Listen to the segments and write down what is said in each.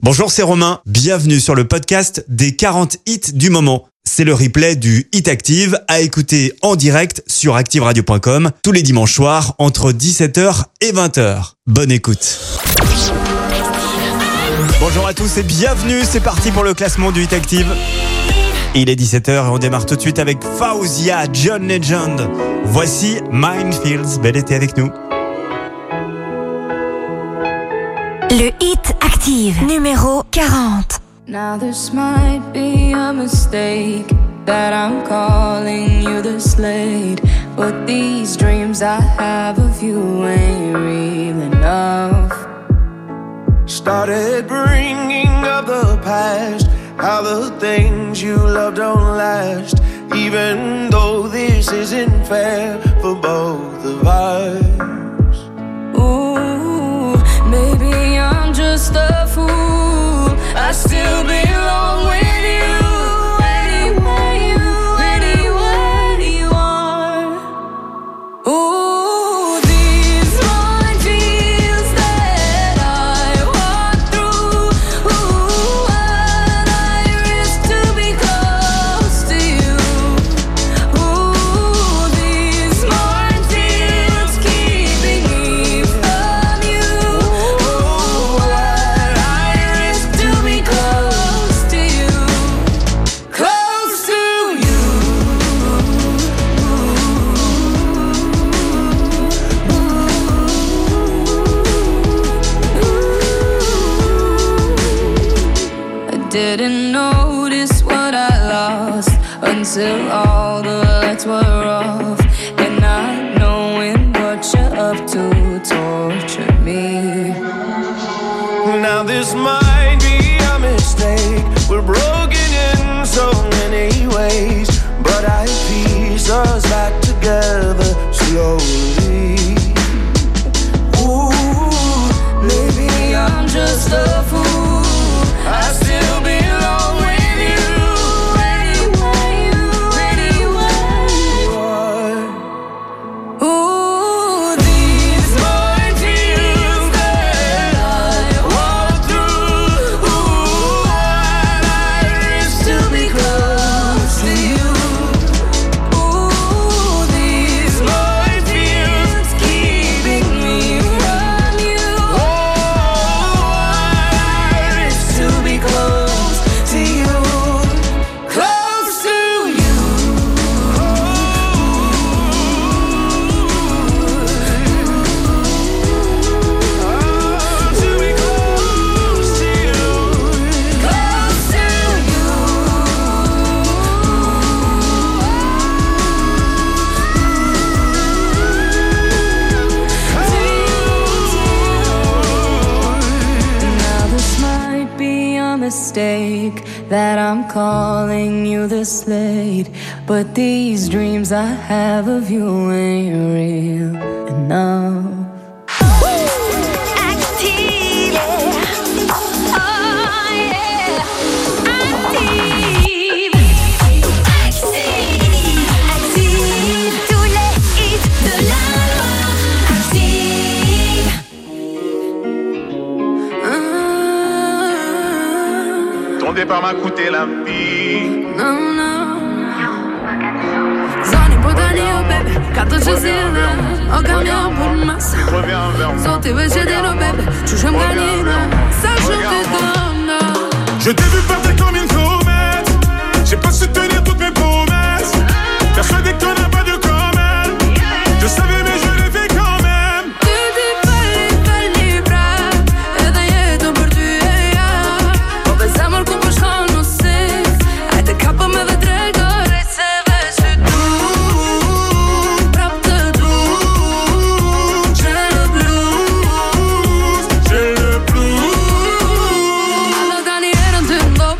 Bonjour, c'est Romain. Bienvenue sur le podcast des 40 hits du moment. C'est le replay du Hit Active à écouter en direct sur activeradio.com tous les dimanches soirs entre 17h et 20h. Bonne écoute. Bonjour à tous et bienvenue. C'est parti pour le classement du Hit Active. Il est 17h et on démarre tout de suite avec Fawzia, John Legend. Voici Minefields. Bel été avec nous. Le Hit Active, numéro 40. Now this might be a mistake that I'm calling you the Slade, but these dreams I have of you ain't real enough. Started bringing up the past, how the things you love don't last, even though this isn't fair for both of us. Ooh, maybe I'm just a fool, I still belong with you, anywhere you are. Ooh, these minefields that I walk through, ooh, what I risk to be close to you. Ooh, these minefields keeping me from you. Ooh, what I risk to be close to you, close to you. I didn't notice what I lost until all the lights were off, and not knowing what you're up to torture me. Now this might be a mistake, we're broken in so many ways, but I piece us back together slowly. Ooh, maybe I'm just a fool, I still belong with you, anywhere you are. Ooh, these minefields that I walk through, ooh, what I risk to be close to you. Ooh, these minefields keeping me from you. Oh, I risk to be close to you, close to you. To be close to you. Close to you. Now this might be a mistake that I'm calling you the Slade, but these dreams I have of you ain't real enough. Active. Oh yeah. Active. Active. Tous les hits de la loi. Active. Ton départ m'a coûté la vie. No, no. Zoni podanie, oh baby, kato cię zjada. Oka miał pod masą. Reviens vers moi. Co ty wysiedzi, no baby, чужим ганином. Сожжёт ты давно. Je t'ai vu partir comme une comète. J'ai pas su tenir toutes mes promesses. Persuadé que t'en as pas de comme elle. Je savais mais je l'ai fait quand même. Ty falli pra. Edhe jetën për ty e ja. Po bez zemër ku po shkon në sik. Hajde kapëm edhe drejtore se veç ty du. Prap të du. J'ai le blues. J'ai le blues. Alla tani erën ty ndo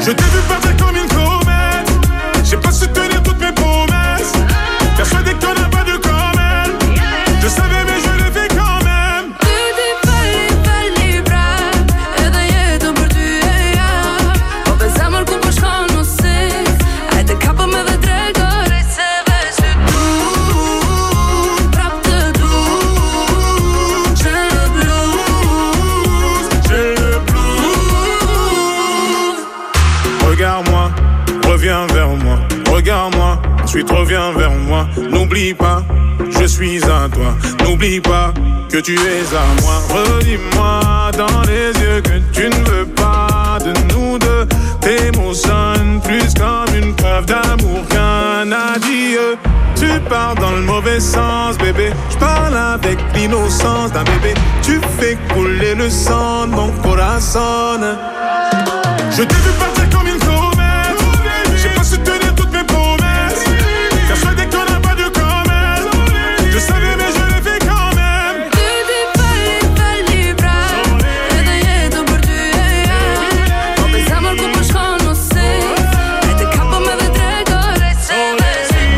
Je t'ai vu partir comme une comète. J'ai pas su tenir toutes mes promesses. Persuadé que t'en as pas de comme elle. Je savais mais je l'ai fait quand même. Tu ti falli pra e da jeton për ty e ja. Po bezemër ku po shkon nuk si. Hajde kapo me dhe tregore se veç ty prap të du. J'ai le blues, J'ai le blues. Regarde-moi, reviens vers moi. Regarde-moi, ensuite reviens vers moi. N'oublie pas, je suis à toi. N'oublie pas que tu es à moi. Redis-moi dans les yeux que tu ne veux pas de nous deux. T'émotionnes plus comme une preuve d'amour qu'un adieu. Tu pars dans le mauvais sens, bébé. Je parle avec l'innocence d'un bébé. Tu fais couler le sang de mon corazon. Je t'ai vu partir comme une comète. J'ai pas su tenir toutes mes promesses. Persuadé que t'en as pas de comme elle. Je savais mais je l'ai fait quand même. tu ti falli pra e da jeton për ty e ja. Po bezemër ku po shkon nuk si. Hajde kapo me dhe tregore se veç ty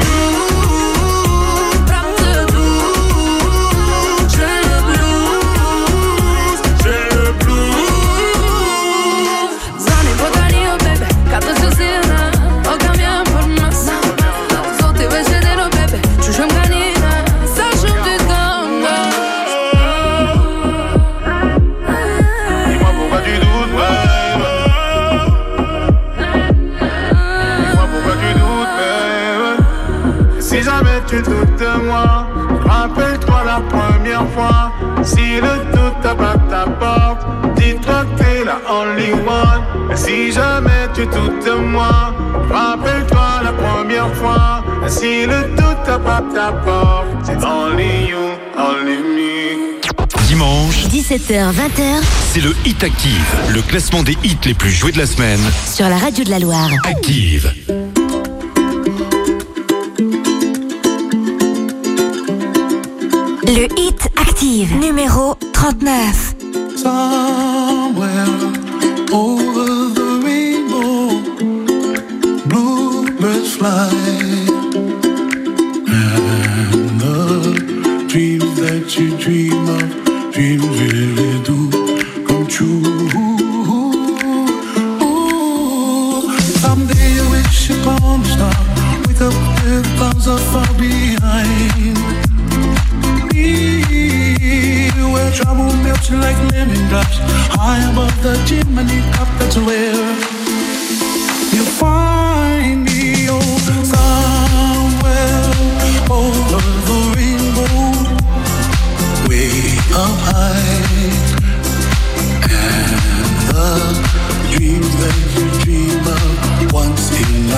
prap të du. J'ai le blues, J'ai le blues. Zani po tani o bebe, ka të zëzina. O kam jam për mësa. Zoti veç e dero bebe, që shumë ka njina. Sa shumë ty t'kënga. Dis-moi pourquoi tu doutes, baby. Dis-moi pourquoi tu doutes, baby. Si jamais tu doutes de moi, rappelle-toi la première fois. Si le doute tape ta porte, dis-toi que t'es la only one. Si jamais tu doutes de moi, rappelle-toi la première fois. Si le doute tape ta porte, c'est only you, only me. Dimanche, 17h-20h c'est le Hit Active, le classement des hits les plus joués de la semaine. sur la radio de la Loire. Active. Le Hit Active, numéro 39. Somewhere over the rainbow, bluebirds fly, and the dreams that you dream of, dreams really do come true. Ooh, someday you wish upon a star, wake up with clouds are far behind. Where trouble melts like lemon drops, high above the chimney top, that's where you find me. Oh, somewhere over the rainbow, way up high, and the dreams that you dream of once in a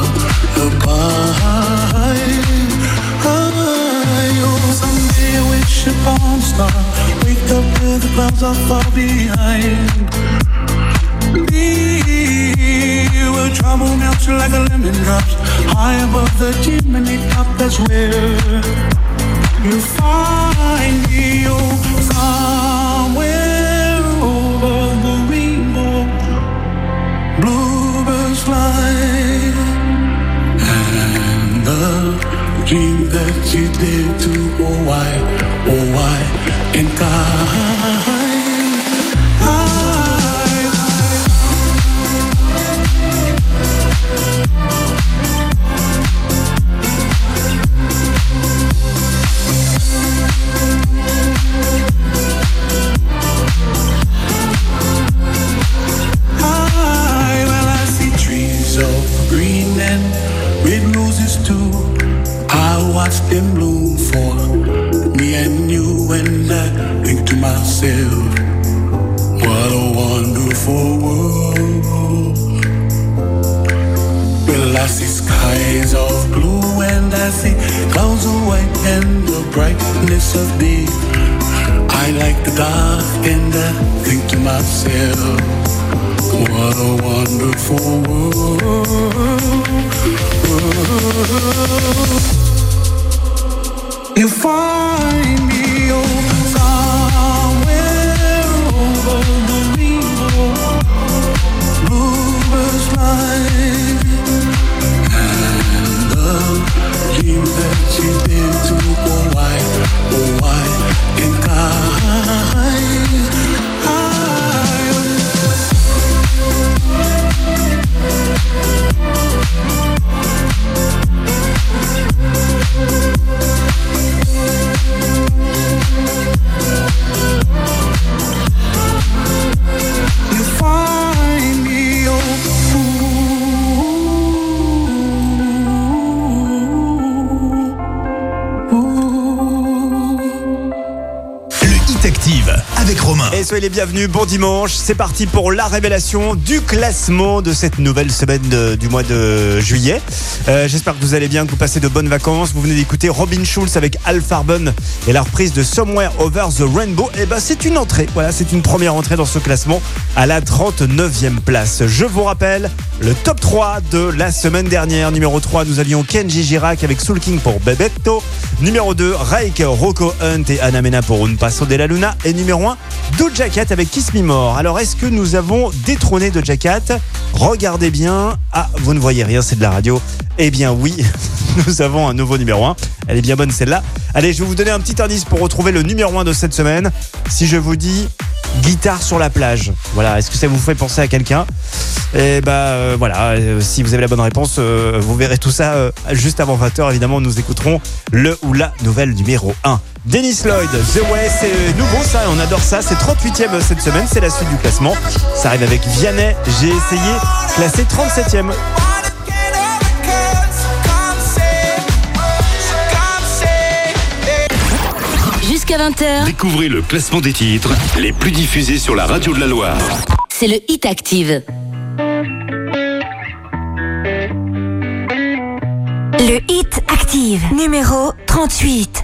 lullaby. Someday I wish upon a star, wake up where the clouds are far behind. Me, where trouble melts like a lemon drops, high above the chimney top, that's where you find me. Oh, somewhere over the rainbow, bluebirds fly, and the dream that you did to, oh why can't I? Well, I see trees of green and red roses too. I watch them bloom for me and you, and I think to myself, what a wonderful world. Well, I see skies of blue and I see clouds of white and the brightness of day. I like the dark and I think to myself, what a wonderful world. You find me, oh, somewhere over the rainbow, bluebirds fly. soyez les bienvenus, bon dimanche. C'est parti pour la révélation du classement de cette nouvelle semaine du mois de juillet. J'espère que vous allez bien, que vous passez de bonnes vacances. Vous venez d'écouter Robin Schulz avec Al Farben et la reprise de Somewhere Over the Rainbow. Et c'est une entrée, voilà, c'est une première entrée dans ce classement à la 39e place. Je vous rappelle le top 3 de la semaine dernière. Numéro 3, nous avions Kenji Girac avec Soul King pour Bebetto. Numéro 2, Rake, Rocco Hunt et Ana Mena pour Un Paso de la Luna. Et numéro 1, Doja Cat avec Kiss Me More. Alors, est-ce que nous avons détrôné Doja Cat ? Regardez bien. Ah, vous ne voyez rien, c'est de la radio. Eh bien oui, nous avons un nouveau numéro 1. Elle est bien bonne celle-là. Allez, je vais vous donner un petit indice pour retrouver le numéro 1 de cette semaine. Si je vous dis guitare sur la plage, voilà, est-ce que ça vous fait penser à quelqu'un ? Et voilà, si vous avez la bonne réponse, vous verrez tout ça juste avant 20h. Évidemment, nous écouterons le ou la nouvelle numéro 1. Dennis Lloyd, The Way, c'est nouveau ça, on adore ça. C'est 38e cette semaine, c'est la suite du classement. Ça arrive avec Vianney, j'ai essayé, classé 37e. Jusqu'à 20h, Découvrez le classement des titres les plus diffusés sur la radio de la Loire. c'est le Hit Active. Le Hit Active, numéro 38.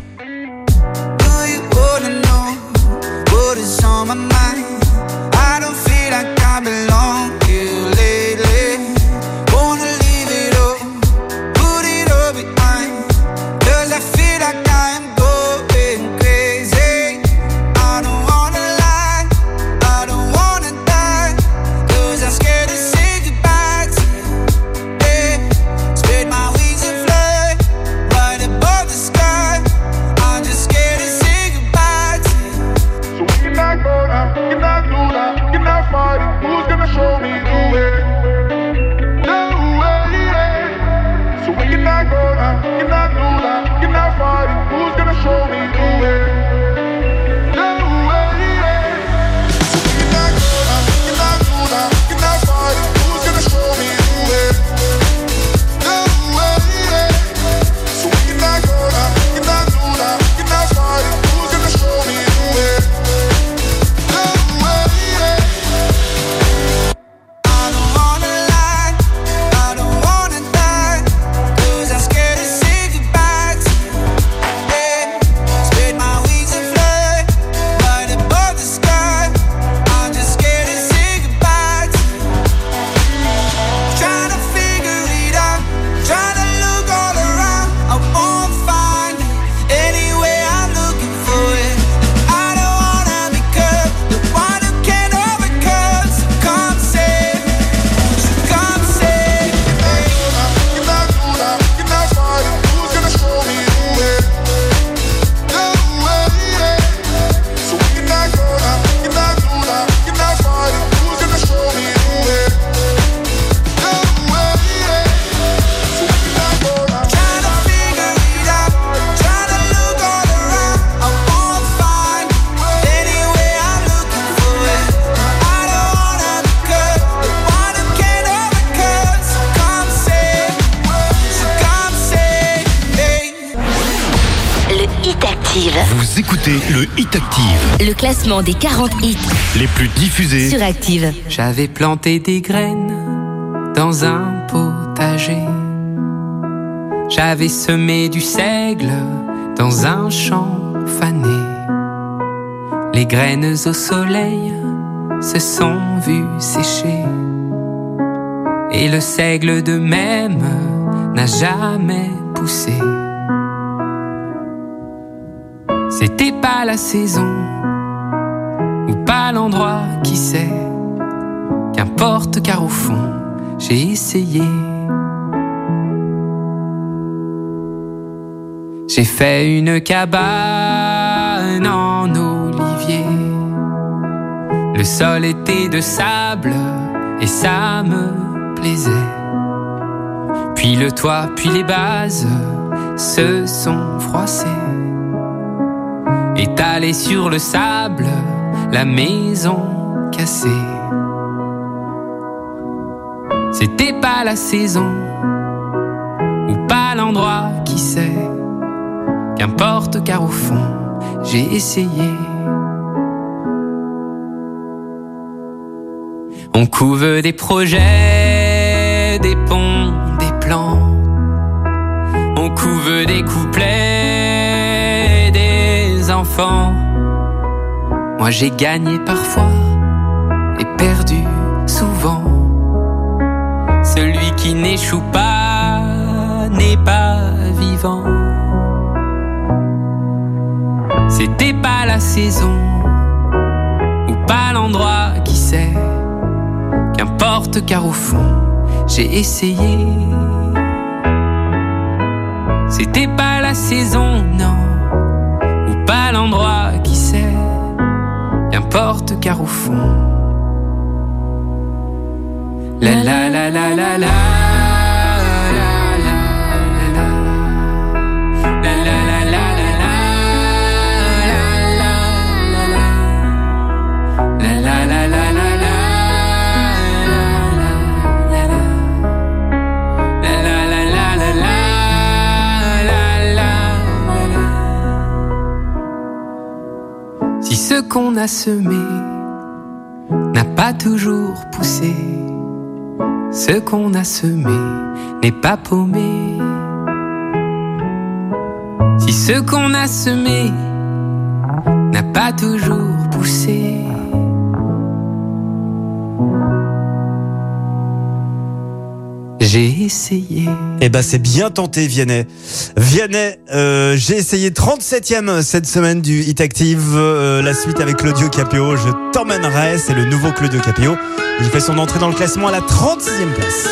Vous écoutez le Hit Active. Le classement des 40 hits Les plus diffusés sur Active. J'avais planté des graines dans un potager. J'avais semé du seigle dans un champ fané. Les graines au soleil se sont vues sécher. Et le seigle de même n'a jamais poussé. C'était pas la saison, ou pas l'endroit, qui sait. Qu'importe, car au fond, j'ai essayé. J'ai fait une cabane en olivier. Le sol était de sable et ça me plaisait. Puis le toit, puis les bases se sont froissées. Étalée sur le sable, la maison cassée. C'était pas la saison, ou pas l'endroit, qui sait. Qu'importe, car au fond, j'ai essayé. On couve des projets, des ponts, des plans. On couve des couplets, des enfants. Moi j'ai gagné parfois et perdu souvent. Celui qui n'échoue pas n'est pas vivant. C'était pas la saison ou pas l'endroit, qui sait. Qu'importe car au fond j'ai essayé. C'était pas la saison, non, ou pas l'endroit, qui sait. Qu'importe car au fond. La la la la la la. Si ce qu'on a semé n'a pas toujours poussé, ce qu'on a semé n'est pas paumé. Si ce qu'on a semé n'a pas toujours poussé. J'ai essayé. Eh ben c'est bien tenté, Vianney. Vianney, j'ai essayé 37e cette semaine du Hit Active. La suite avec Claudio Capéo, Je t'emmènerai, c'est le nouveau Claudio Capéo. Il fait son entrée dans le classement à la 36e place.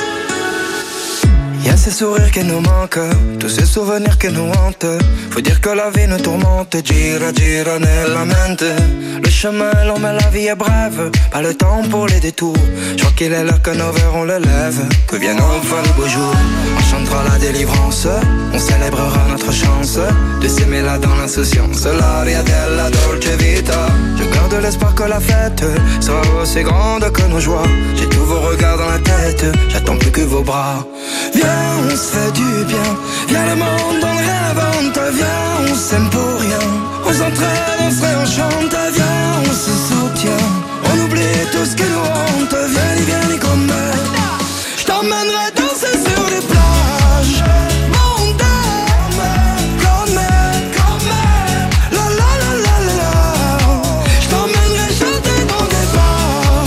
Y a ces sourires qui nous manquent, tous ces souvenirs qui nous hantent. Faut dire que la vie nous tourmente, gira gira nella mente. Le chemin est long mais la vie est brève, pas le temps pour les détours. Je crois qu'il est l'heure que nos verrons le lève, que vienne enfin le beau jour. On chantera la délivrance, on célébrera notre chance de s'aimer là dans l'insouciance. L'aria della dolce vita. Je garde l'espoir que la fête sera aussi grande que nos joies. J'ai tous vos regards dans la tête, j'attends plus que vos bras. Viens, on se fait du bien. Viens, le monde, on réinvente. Viens, on s'aime pour rien. On s'entraîne, on se réenchante. Viens, on se soutient. On oublie tout ce qui nous hante. Viens, comme je t'emmènerai danser sur les plages. Mondaines, comme la la la la la la. Je t'emmènerai chanter dans des bars.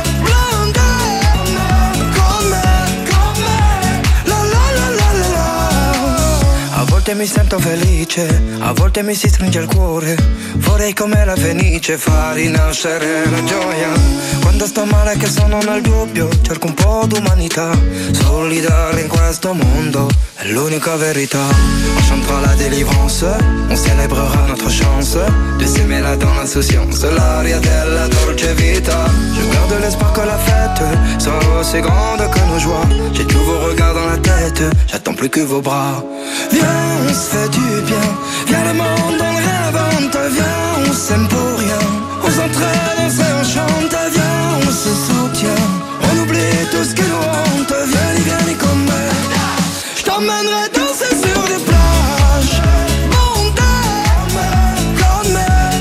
Blindés, comme la la la la la la. A volte mi sento felice, a volte mi si stringe il cuore. Vorrei come la fenice far rinascere la gioia. Quando sto male che sono nel dubbio, cerco un po' d'umanità. Solidale in questo mondo è l'unica verità. On chantera la délivrance, on célébrera notre chance de s'aimer là dans l'insouciance. L'aria della dolce vita. Je garde l'espoir que la fête sera aussi grande que nos joies. J'ai tous vos regards dans la tête, j'attends plus que vos bras. Viens, on se fait du bien. Viens, le monde, on réinvente. Viens, on s'aime pour rien. On s'entraîne, on se réenchante. Viens, on se soutient. On oublie tout ce qui nous hante. Viens, comme je t'emmènerai danser sur les plages. Mondaines, comme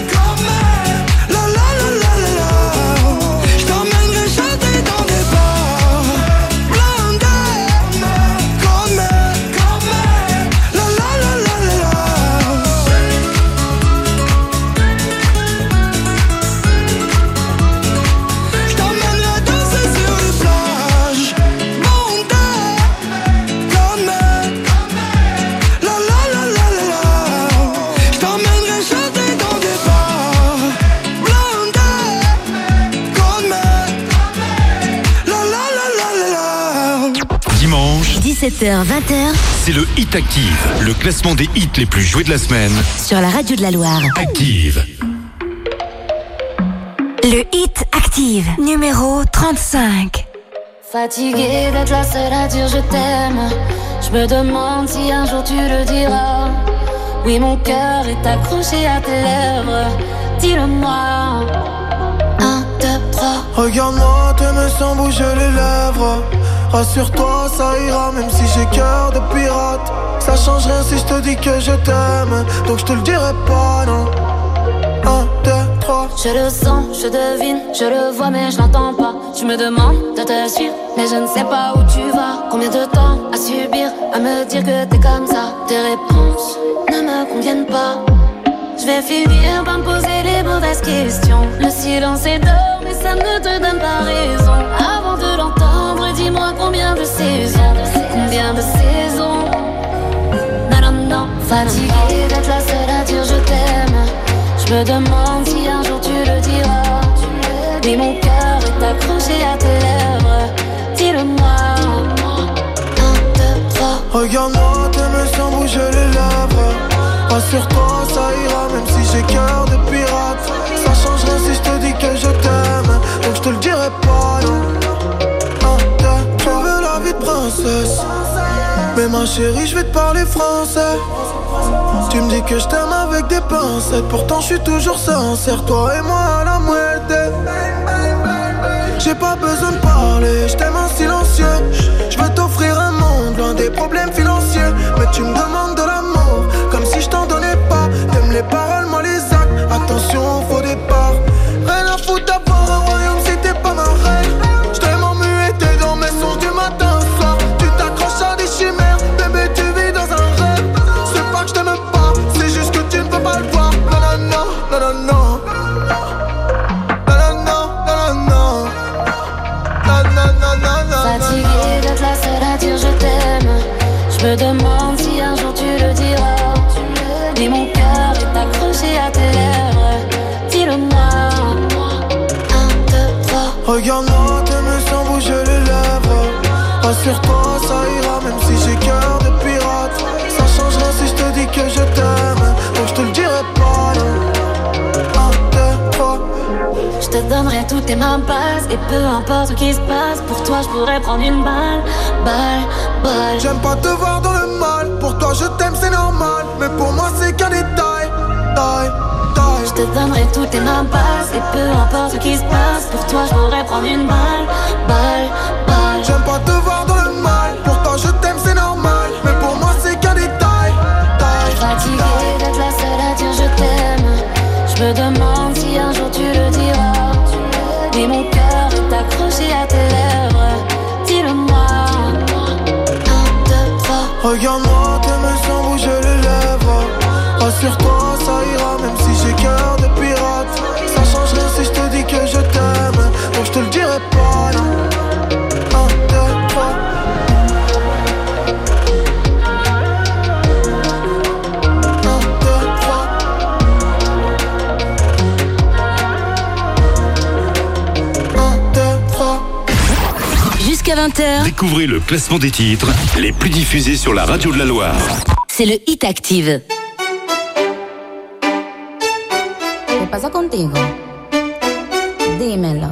la la la la la la. Je t'emmènerai chanter dans des bars. Blindés, comme la la la la la la. Je t'emmènerai danser sur les plages. Mondaines, comme la la la la la la. Je t'emmènerai chanter dans des bars. Blindés, comme la la la la la la. Dimanche, 17h-20h c'est le Hit Active, le classement des hits les plus joués de la semaine. sur la radio de la Loire. Active. Le Hit Active, numéro 35. Fatiguée d'être la seule à dire je t'aime. Je me demande si un jour tu le diras. Oui, mon cœur est accroché à tes lèvres. Dis-le-moi. 1, 2, 3. Regarde-moi, t'aimes sans bouger les lèvres. Rassure-toi, ça ira même si j'ai cœur de pirate. Ça change rien si je te dis que je t'aime, donc je te le dirai pas, non. 1, 2, 3. Je le sens, je devine, je le vois mais je l'entends pas. Tu me demandes de te suivre, mais je ne sais pas où tu vas. Combien de temps à subir, à me dire que t'es comme ça. Tes réponses ne me conviennent pas. Je vais finir par me poser les mauvaises questions. Le silence est d'or, mais ça ne te donne pas raison. Avant de l'entendre, dis-moi combien de saisons. Combien de saisons. Non, non, non, fatiguée d'être la seule à dire je t'aime. Je me demande si un jour tu le diras. Mais mon cœur est accroché à tes lèvres. Dis-le-moi. 1, 2, 3. Regarde-moi, t'aimes sans bouger les lèvres. Rassure-toi, ça ira même si j'ai cœur de pirate. Ça changera si je te dis que je t'aime. Donc je te le dirai pas, non. 1, 2, 3. Je veux la vie de princesse. Mais ma chérie, je vais te parler français. Tu me dis que je t'aime avec des pincettes. Pourtant je suis toujours sincère, toi et moi à la moitié. J'ai pas besoin de parler, je t'aime en silencieux. Je veux t'offrir un monde loin des problèmes financiers. Mais tu me demandes de l'amour, comme si je t'en donnais pas. T'aimes les paroles, moi les actes, attention au faux départ. Rien à foutre d'avoir un royaume si t'es pas ma reine. Je t'aime en muet, t'es dans mes songes du matin au soir. Tu t'accroches à des chimères, bébé tu vis dans un rêve. C'est pas que je t'aime pas, c'est juste que tu ne peux pas le voir. Non, non, non, non, non, non. Fatiguée d'être la seule à dire je t'aime. Je me demande si un jour tu le diras. Mais mon cœur est accroché à tes lèvres. Dis-le-moi. 1, 2, 3. Regarde-moi, t'aimes sans bouger les lèvres. Rassure-toi, ça ira même si j'ai cœur de pirate. Ça changera si je te dis que je t'aime. Donc je te le dirai pas, non. 1, 2, 3. Je te donnerai toutes tes mains passes. Et peu importe ce qui se passe, pour toi je pourrais prendre une balle. Balle. J'aime pas te voir dans le mal. Pour toi je t'aime c'est normal. Mais pour moi c'est qu'un détail. Je te donnerai toutes tes mains passes. Et peu importe ce qui se passe, pour toi je pourrais prendre une balle. J'aime pas te voir dans le mal. Pour toi je t'aime c'est normal. Mais pour moi c'est qu'un détail. Fatiguée d'être la seule à dire je t'aime. Je me demande si un jour tu le diras. Mais mon cœur est accroché à tes lèvres. Dis-le-moi. 1, 2, 3. Regarde-moi, t'aimes sans bouger les lèvres. Rassure-toi, ça ira même si j'ai cœur de pirate. Ça changerait si je te dis que je t'aime. Donc je te le dirai pas, non. 1, 2, 3. Jusqu'à 20h. Découvrez le classement des titres les plus diffusés sur la radio de la Loire. C'est le Hit Active. ¿Qué pasa contigo? Dímelo.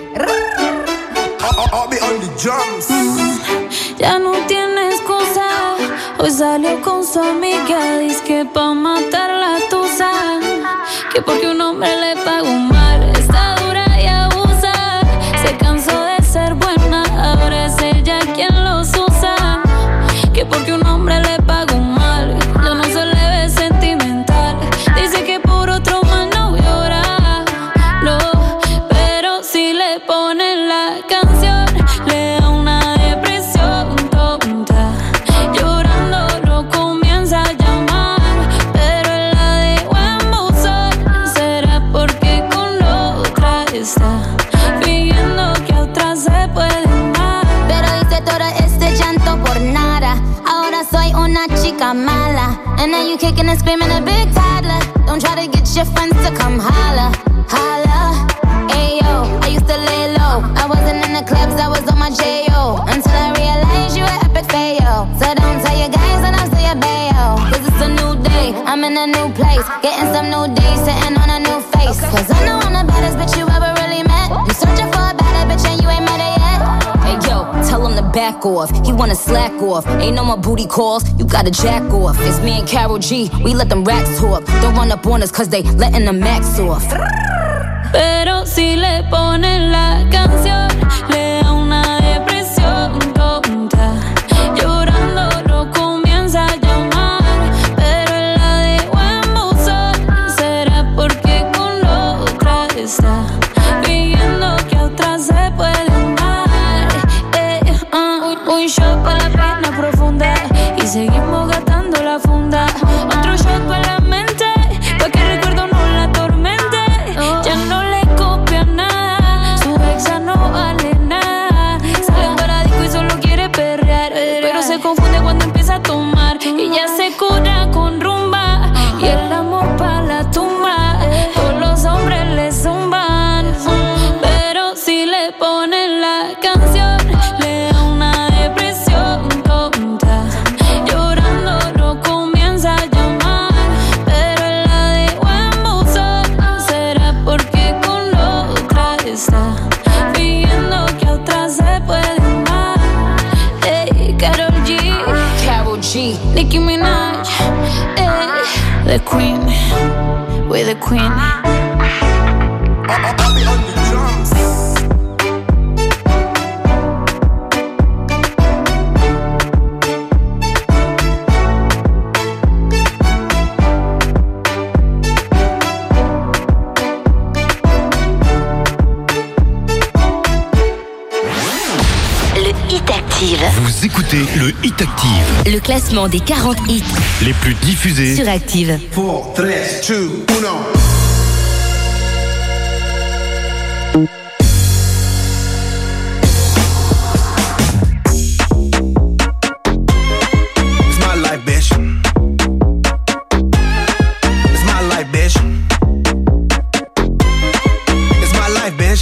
Ya no tiene excusa. Hoy salió con su amiga. Dice que pa' matar la tusa. Que porque un hombre le pagó mal. Está dura y abusa. Se cansó de ser buena. Ahora es ella quien los usa. Que porque un hombre le pagó mal. Ya no se le ve sentimental. Dice que por otro más no llora. No, pero si le ponen la canción, le da una depresión tonta. Llorando lo comienza a llamar, pero él la dejó en buzón. ¿Será porque con la otra está fingiendo que a otra se puede amar? Pero hice todo este llanto por nada. Ahora soy una chica mala. And now you kicking and screaming a big toddler. Don't try to get your friends to come holla. Holla. Ayo, I used to lay low. I wasn't in the clubs, I was on my J.O. Until I realized you were epic fail. So don't tell your guys and I'll tell your bayo. Cause it's a new day, I'm in a new place. Getting some new days, sitting on a new face. Cause I know I'm the baddest bitch you ever really met. You searching for a better bitch and you ain't met her yet. Hey yo, tell him to back off. He wanna slack off. Ain't no more booty calls. You gotta jack off. It's me and Karol G. We let them racks talk. Don't run up on us cause they letting the max off. Pero si le ponen la canción, le da una depresión tonta. Llorando lo comienza a llamar, pero él la dejó en buzón. ¿Será porque con la otra shot pa' la pena profunda y seguimos gastando la funda. Otro shot pa' la mente, pa' que el recuerdo no la atormente. Ya no le copia nada, su exa no vale nada. Sale para disco y solo quiere perrear, pero se confunde cuando empieza a tomar y ya se cura con rumba y el amor pa' la tumba. Todos los hombres le zumban, pero si le ponen la canción le da una depresión tonta. Llorando no comienza a llamar, pero él la dejó en buzón. ¿Será porque con otra está fingiendo que a otra se puede amar? Ey, Karol G, Nicki Minaj, the queen, we're the queen. Le Hit Active. Vous écoutez le Hit Active. Le classement des 40 hits Les plus diffusés sur Active. 4, 3, 2, 1. It's my life, bitch. It's my life, bitch. It's my life, bitch.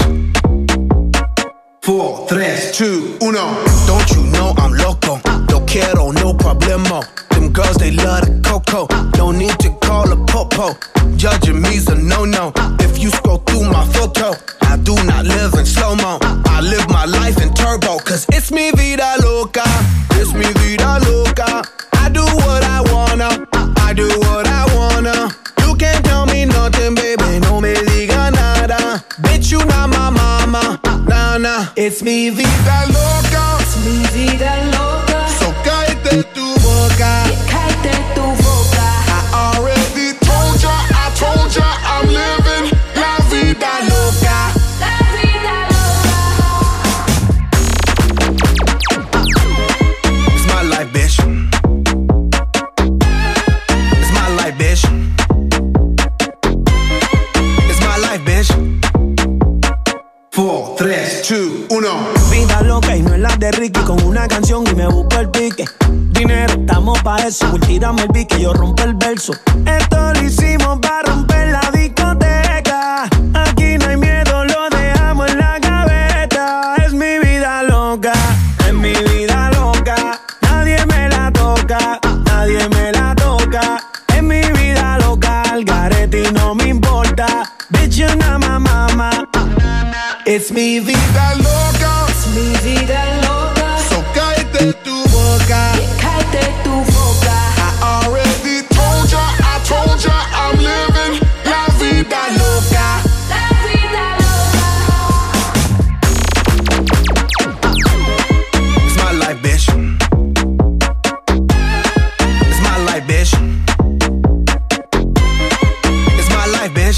4, 3, 2, 1. Don't you know I'm loco? No quiero, no problemo. Them girls, they love the cocoa. No need to call a popo. Judging me's a no-no. If you scroll through my photo, I do not live in slow-mo. I live my life in turbo. Cause it's mi vida loca. It's mi vida loca. I do what I wanna. I do what I wanna. You can't tell me nothing, baby. No me diga nada. Bitch, you not my mama. Nah, nah. It's mi vida loca. Es mi vida loca. So cállate tu boca. Cállate tu boca. I already told ya, I'm living la vida loca. La vida loca. It's my life, bitch. It's my life, bitch. It's my life, bitch. 4, 3, 2, 1. Vida loca y no es la de Ricky. Con una canción y me busco el pique. Dinero, estamos pa' eso. Tírame el pique, yo rompo el verso. Esto lo hicimos pa' romper la discoteca. Aquí no hay miedo, lo dejamos en la gaveta. Es mi vida loca, es mi vida loca. Nadie me la toca, nadie me la toca. Es mi vida loca, al garete y no me importa. Bitch, you not my mama. It's mi vida loca. Es mi vida loca. So cállate tu boca. Cállate tu boca. I already told ya, I'm living la vida loca. La vida loca. It's my life, bitch. It's my life, bitch. It's my life, bitch.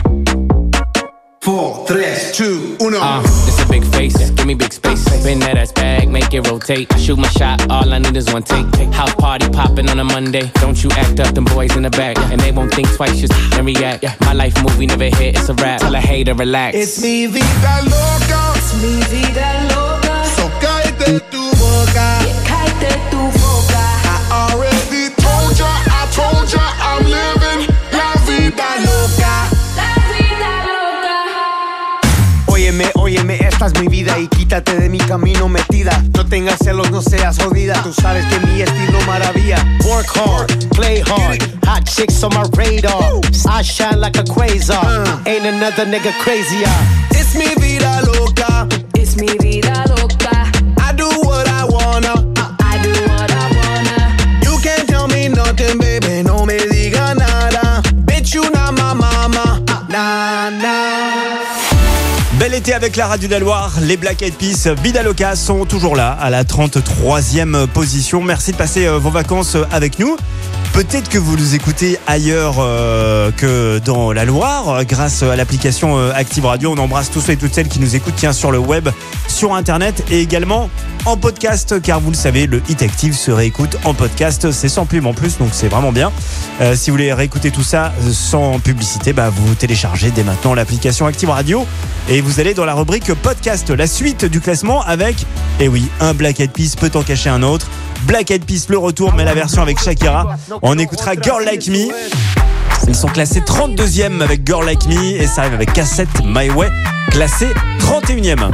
4, 3, 2, 1. It's a big face, give me big space. Spin that ass bag, make it rotate. I shoot my shot, all I need is one take. House party popping on a Monday. Don't you act up, them boys in the back. And they won't think twice, just and react. My life movie never hit, it's a rap. Tell a hater, relax. It's mi vida loca. Es mi vida loca. So cállate tu boca. Cállate tu boca. I already told ya, I'm living la vida loca. La vida loca. Óyeme, óyeme, esta es mi vida y quítate de mi camino metida. No tengas celos, no seas jodida. Tú sabes que mi estilo maravilla. Work hard, play hard. Hot chicks on my radar. I shine like a quasar. Ain't another nigga crazier. It's mi vida loca. Es mi vida loca. I do what I wanna. I do what I wanna. You can't tell me nothing, baby. No me diga nada. Bitch, you not my mama. Nah, nah. Bel été avec la radio de la Loire, les Black Eyed Peas, Vida Loca sont toujours là à la 33e position. Merci de passer vos vacances avec nous. Peut-être que vous nous écoutez ailleurs que dans la Loire, grâce à l'application Active Radio. On embrasse tous ceux et toutes celles qui nous écoutent sur le web, sur Internet et également en podcast, car vous le savez, le Hit Active se réécoute en podcast. C'est sans pub en plus, donc c'est vraiment bien. Si vous voulez réécouter tout ça sans publicité, vous téléchargez dès maintenant l'application Active Radio et vous allez dans la rubrique podcast, la suite du classement avec, un Black Eyed Peas peut en cacher un autre. Black Eyed Peas, le retour, mais la version avec Shakira. On écoutera Girl Like Me. Ils sont classés 32e avec Girl Like Me et ça arrive avec Cassette My Way, classé 31e.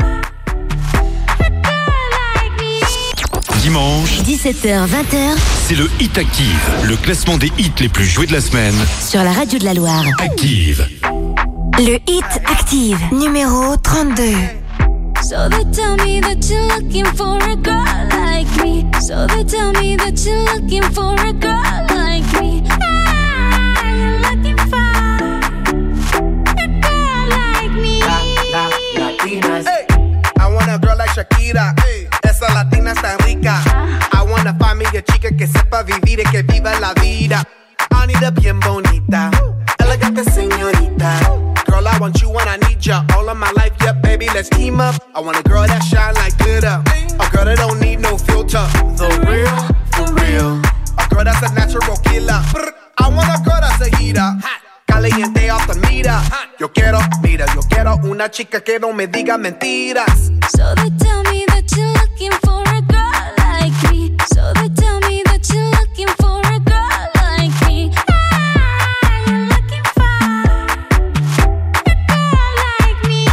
Dimanche, 17h-20h, c'est le Hit Active, le classement des hits les plus joués de la semaine. sur la radio de la Loire. Active. Le Hit Active, numéro 32. So they tell me that you're looking for a girl like me. So they tell me that you're looking for a girl like me. Ah, you're looking for a girl like me. Latinas. Hey, I want a girl like Shakira. Hey, esa latina está rica. I wanna find me a chica que sepa vivir y que viva la vida. Anita bien bonita, elegante señorita. Girl, I want you when I need ya. All of my life, yeah, baby, let's team up. I want a girl that shine like glitter. A girl that don't need no filter. The real, for real. A girl that's a natural killer. I want a girl that's a heater. Caliente off the meter. Yo quiero una chica que no me diga mentiras. So they tell me that you're looking for a girl like me. So they tell me that you're looking for a girl like me. Ah, you're looking for a girl like me.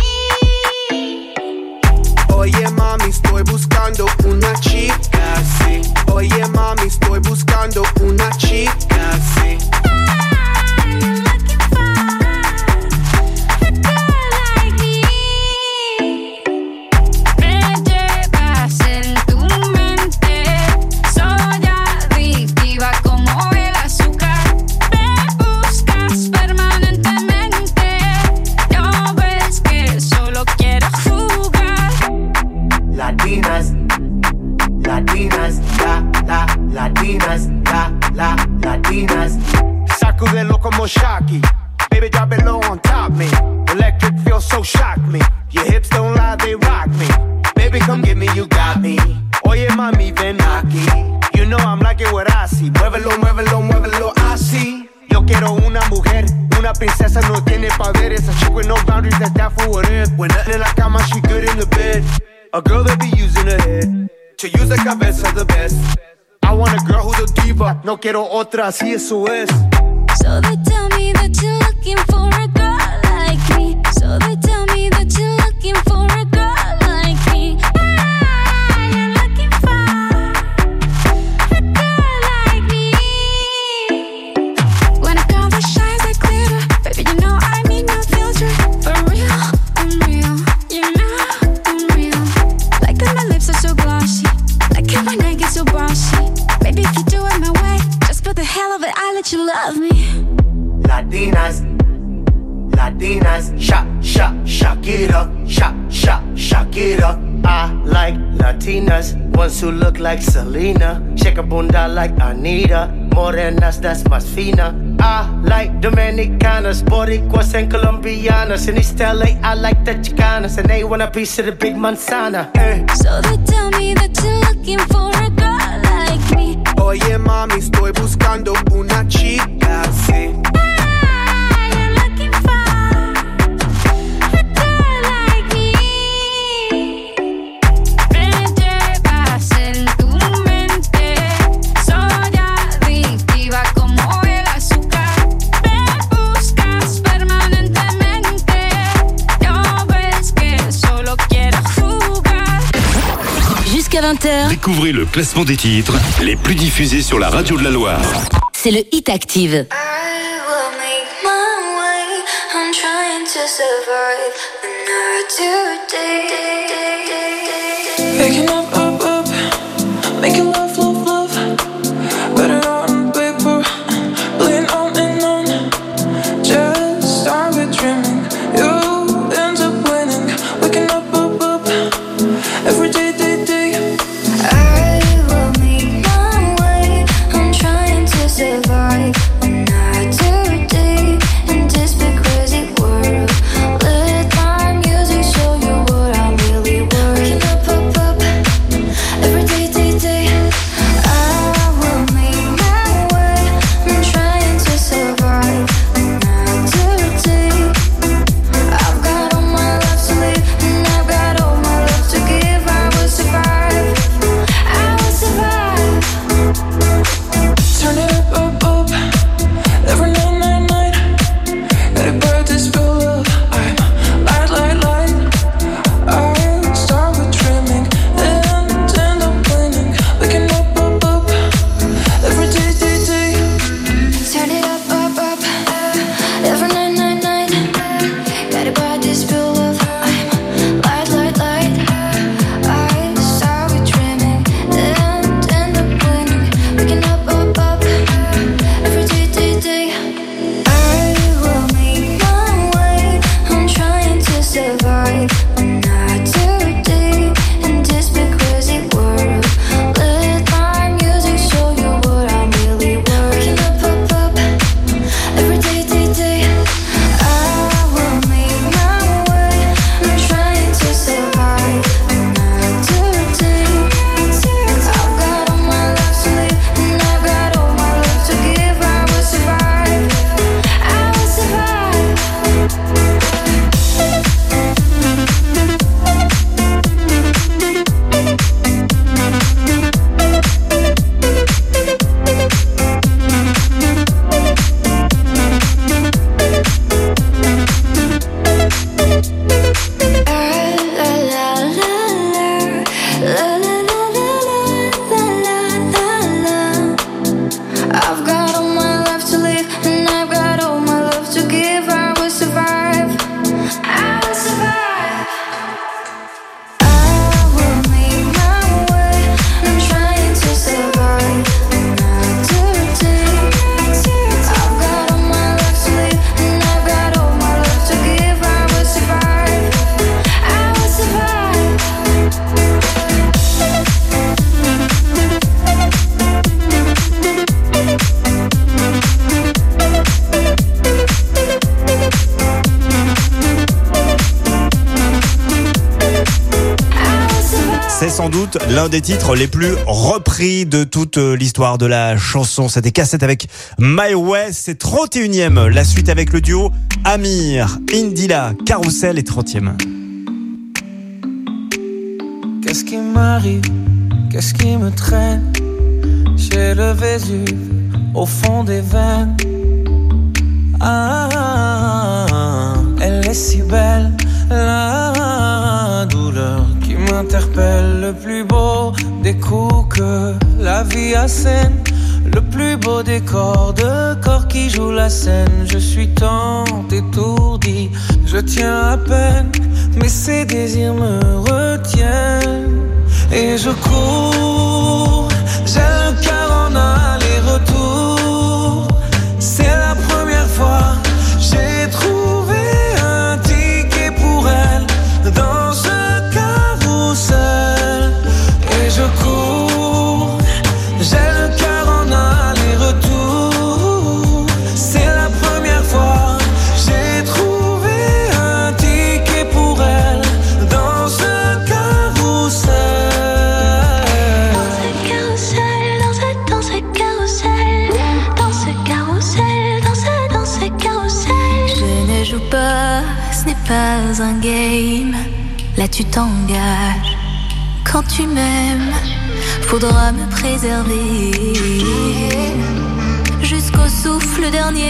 Oye mami, estoy buscando una chica, sí. Oye mami, estoy buscando una chica, sí. Latinas. Sacudelo como Shocky. Baby, drop it low on top me. Electric feels so shock me. Your hips don't lie, they rock me. Baby, come get me, you got me. Oye, mami, ven aquí. You know I'm like it what I see. Muévelo, muévelo, muévelo, así. Yo quiero una mujer, una princesa, no tiene poderes. A chick with no boundaries, that's that for what it. When nothing in la cama, she good in the bed. A girl that be using her head to use the cabeza the best. I want a girl who's a diva. No quiero otra, así eso es. So they tell me that you're looking for a girl like me. So they tell me that you're looking for a girl like me. Ah, you're looking for a girl like me. When a girl that shines like glitter, baby, you know I need no filter. For real, I'm real. You know I'm real. Like that my lips are so glossy. Like it when I get so bossy. Baby, if you do it my way, just for the hell of it, I let you love me. Latinas, Shakira, Shakira. I like Latinas, ones who look like Selena, shake a bunda like Anita, morenas that's más fina. I like Dominicanas, Boricuas and Colombianas. In East LA, I like the Chicanas, and they want a piece of the big manzana. So they tell me that you're looking for a girl like me. Oye mami, estoy buscando una chica, sí. Jusqu'à 20h, Découvrez le classement des titres les plus diffusés sur la radio de la Loire. c'est le Hit Active. Picking up, making love, better on paper, playing on and on. Just started dreaming, you end up winning. Waking up, every day. I will make my way. I'm trying to sans doute l'un des titres les plus repris de toute l'histoire de la chanson. C'était Cassette avec My Way, c'est 31e. La suite avec le duo Amir, Indila, Carousel est 30e. Qu'est-ce qui m'arrive? Qu'est-ce qui me traîne? J'ai le Vésuve au fond des veines. Ah, elle est si belle, la douleur qui m'interpelle. Le plus beau des coups que la vie assène, le plus beau décor de corps qui joue la scène. Je suis tant étourdi, je tiens à peine, mais ces désirs me retiennent. Et je cours, j'ai le cœur en aller-retour. C'est la première fois, j'ai trouvé un ticket pour elle dans ce carrousel. Et je cours, j'ai le cœur en aller-retour. C'est la première fois, j'ai trouvé un ticket pour elle dans ce carrousel. Ce n'est pas un game, là tu t'engages. Quand tu m'aimes, faudra me préserver jusqu'au souffle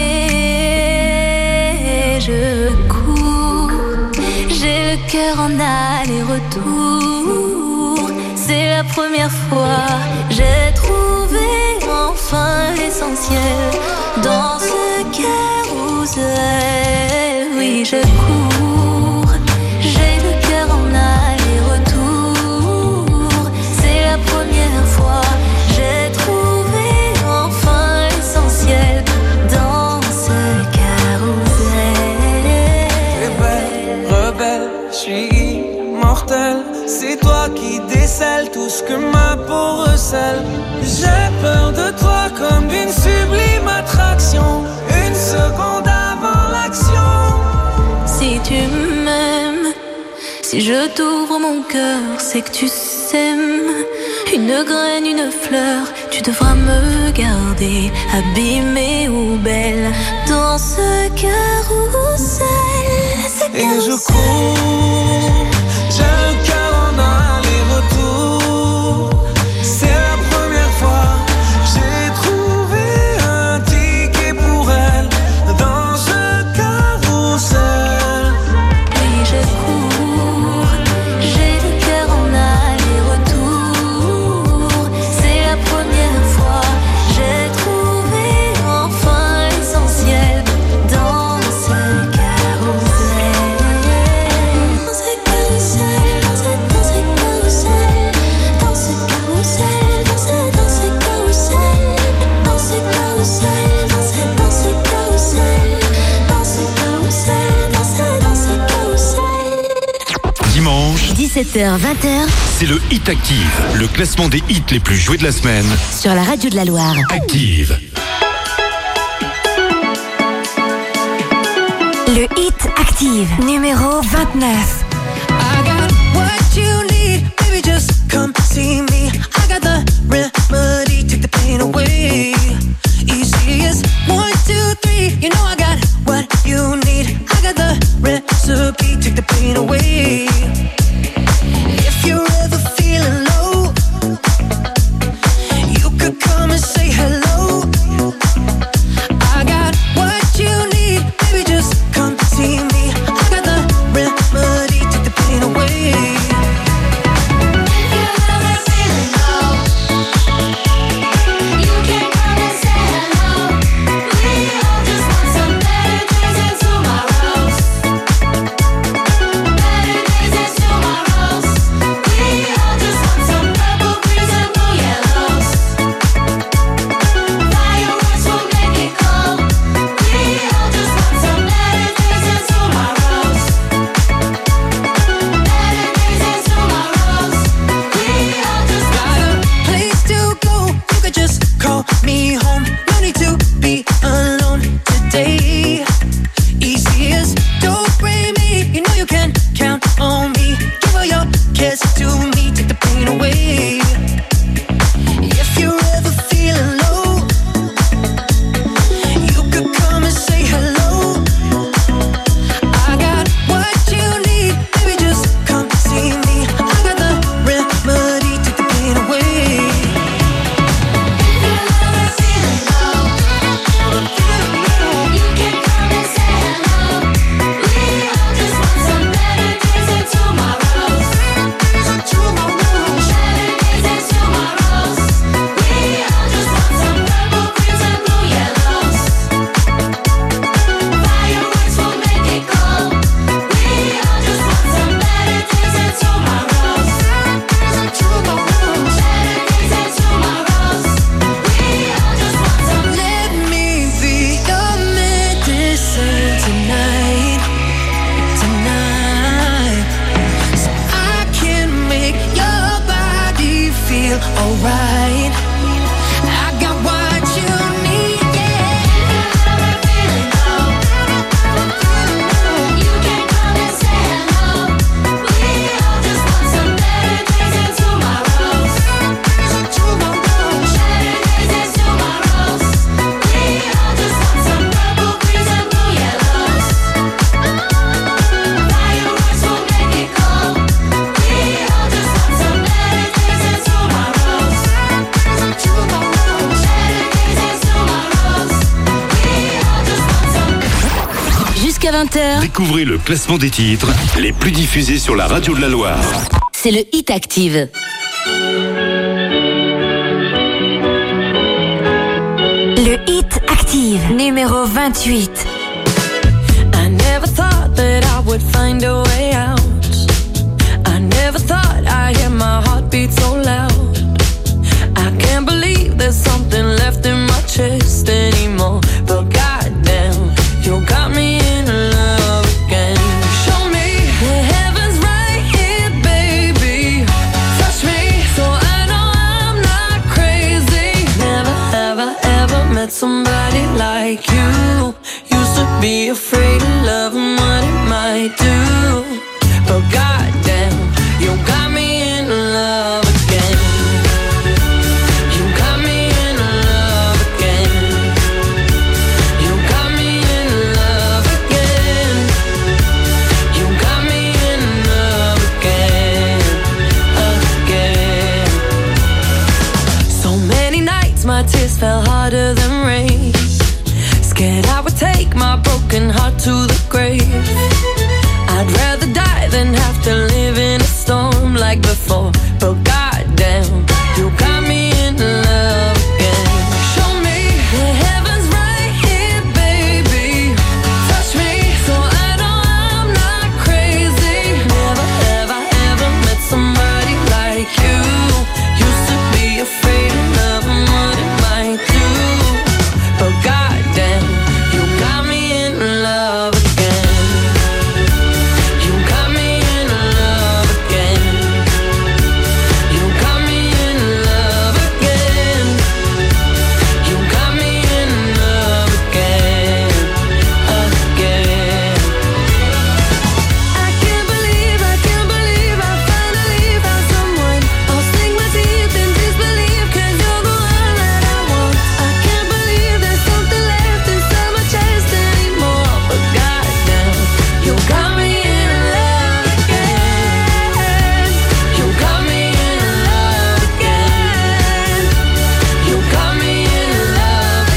dernier. Je cours, j'ai le cœur en aller-retour. C'est la première fois, j'ai trouvé enfin l'essentiel dans ce carrousel. Oui, je cours, j'ai le cœur en aller-retour. C'est la première fois, j'ai trouvé enfin l'essentiel dans ce carrousel. T'es belle, rebelle, je suis immortel. C'est toi qui décèles tout ce que ma peau recèle. J'ai peur de toi comme d'une sublime attraction, une seconde avant l'action. Si tu m'aimes, si je t'ouvre mon cœur, c'est que tu s'aimes. Une graine, une fleur, tu devras me garder, abîmée ou belle, dans ce carrousel. Et je cours, j'ai le cœur en aller-retour. C'est la première fois, j'ai trouvé un ticket pour elle dans ce carrousel. Oui, je cours, j'ai le cœur en aller-retour. C'est la première fois, j'ai trouvé enfin l'essentiel dans ce carrousel. Dans ce carrousel, dans ce carrousel, dans ce carrousel, dans ce carrousel, dans ce carrousel, dans ce carrousel, dans ce carrousel. Dimanche, 17h-20h, c'est le Hit Active, le classement des hits les plus joués de la semaine. sur la radio de la Loire. Active. Le Hit Active, numéro 29. I got what you need, baby, just come see me. I got the remedy, take the pain away. Easy as 1, 2, 3, you know I got what you need. I got the recipe, take the pain away. If you're ever feeling low, you could come and say hello. I got what you need, baby, just come see me. I got the remedy, take the pain away. If you're ever feeling low, right. I got what you need, yeah. You can't come and say hello. We all just want some better days and tomorrows. Better days and tomorrows. We all just want some purple greens and blue yellows. Fireworks will make it cold. We all just want some better days and tomorrows. Better days and tomorrows. We all just want some. Jusqu'à 20h, Découvrez le classement des titres les plus diffusés sur la radio de la Loire. c'est le Hit Active. Le Hit Active, numéro 28. I never thought that I would find a way out. I never thought I'd hear my heartbeat so loud. I can't believe there's something left in my chest anymore. But goddamn, you got me in love again. Show me the heavens right here, baby. Touch me so I know I'm not crazy. Never have I ever met somebody like you. Used to be afraid of love and what it might do. But goddamn, you got me in love again. You got me in love again. You got me in love again. You got me in love again, again. So many nights my tears fell harder than rain. Scared I would take my broken heart to the grave. I'd rather die than have to live in a storm like before. But goddamn, you got me in love again. Show me the heavens right here, baby. Touch me so I know I'm not crazy. Never have I ever met somebody like you. Used to be afraid of love and what it might do. But goddamn, you got me in love again. You got me in love again. You got me in love again. You got me in love again, again. I can't believe I finally found someone. I'll sink my teeth in disbelief 'cause you're the one that I want. I can't believe there's something left inside my chest anymore. But goddamn, you got me in love again. You got me in love again. You got me in love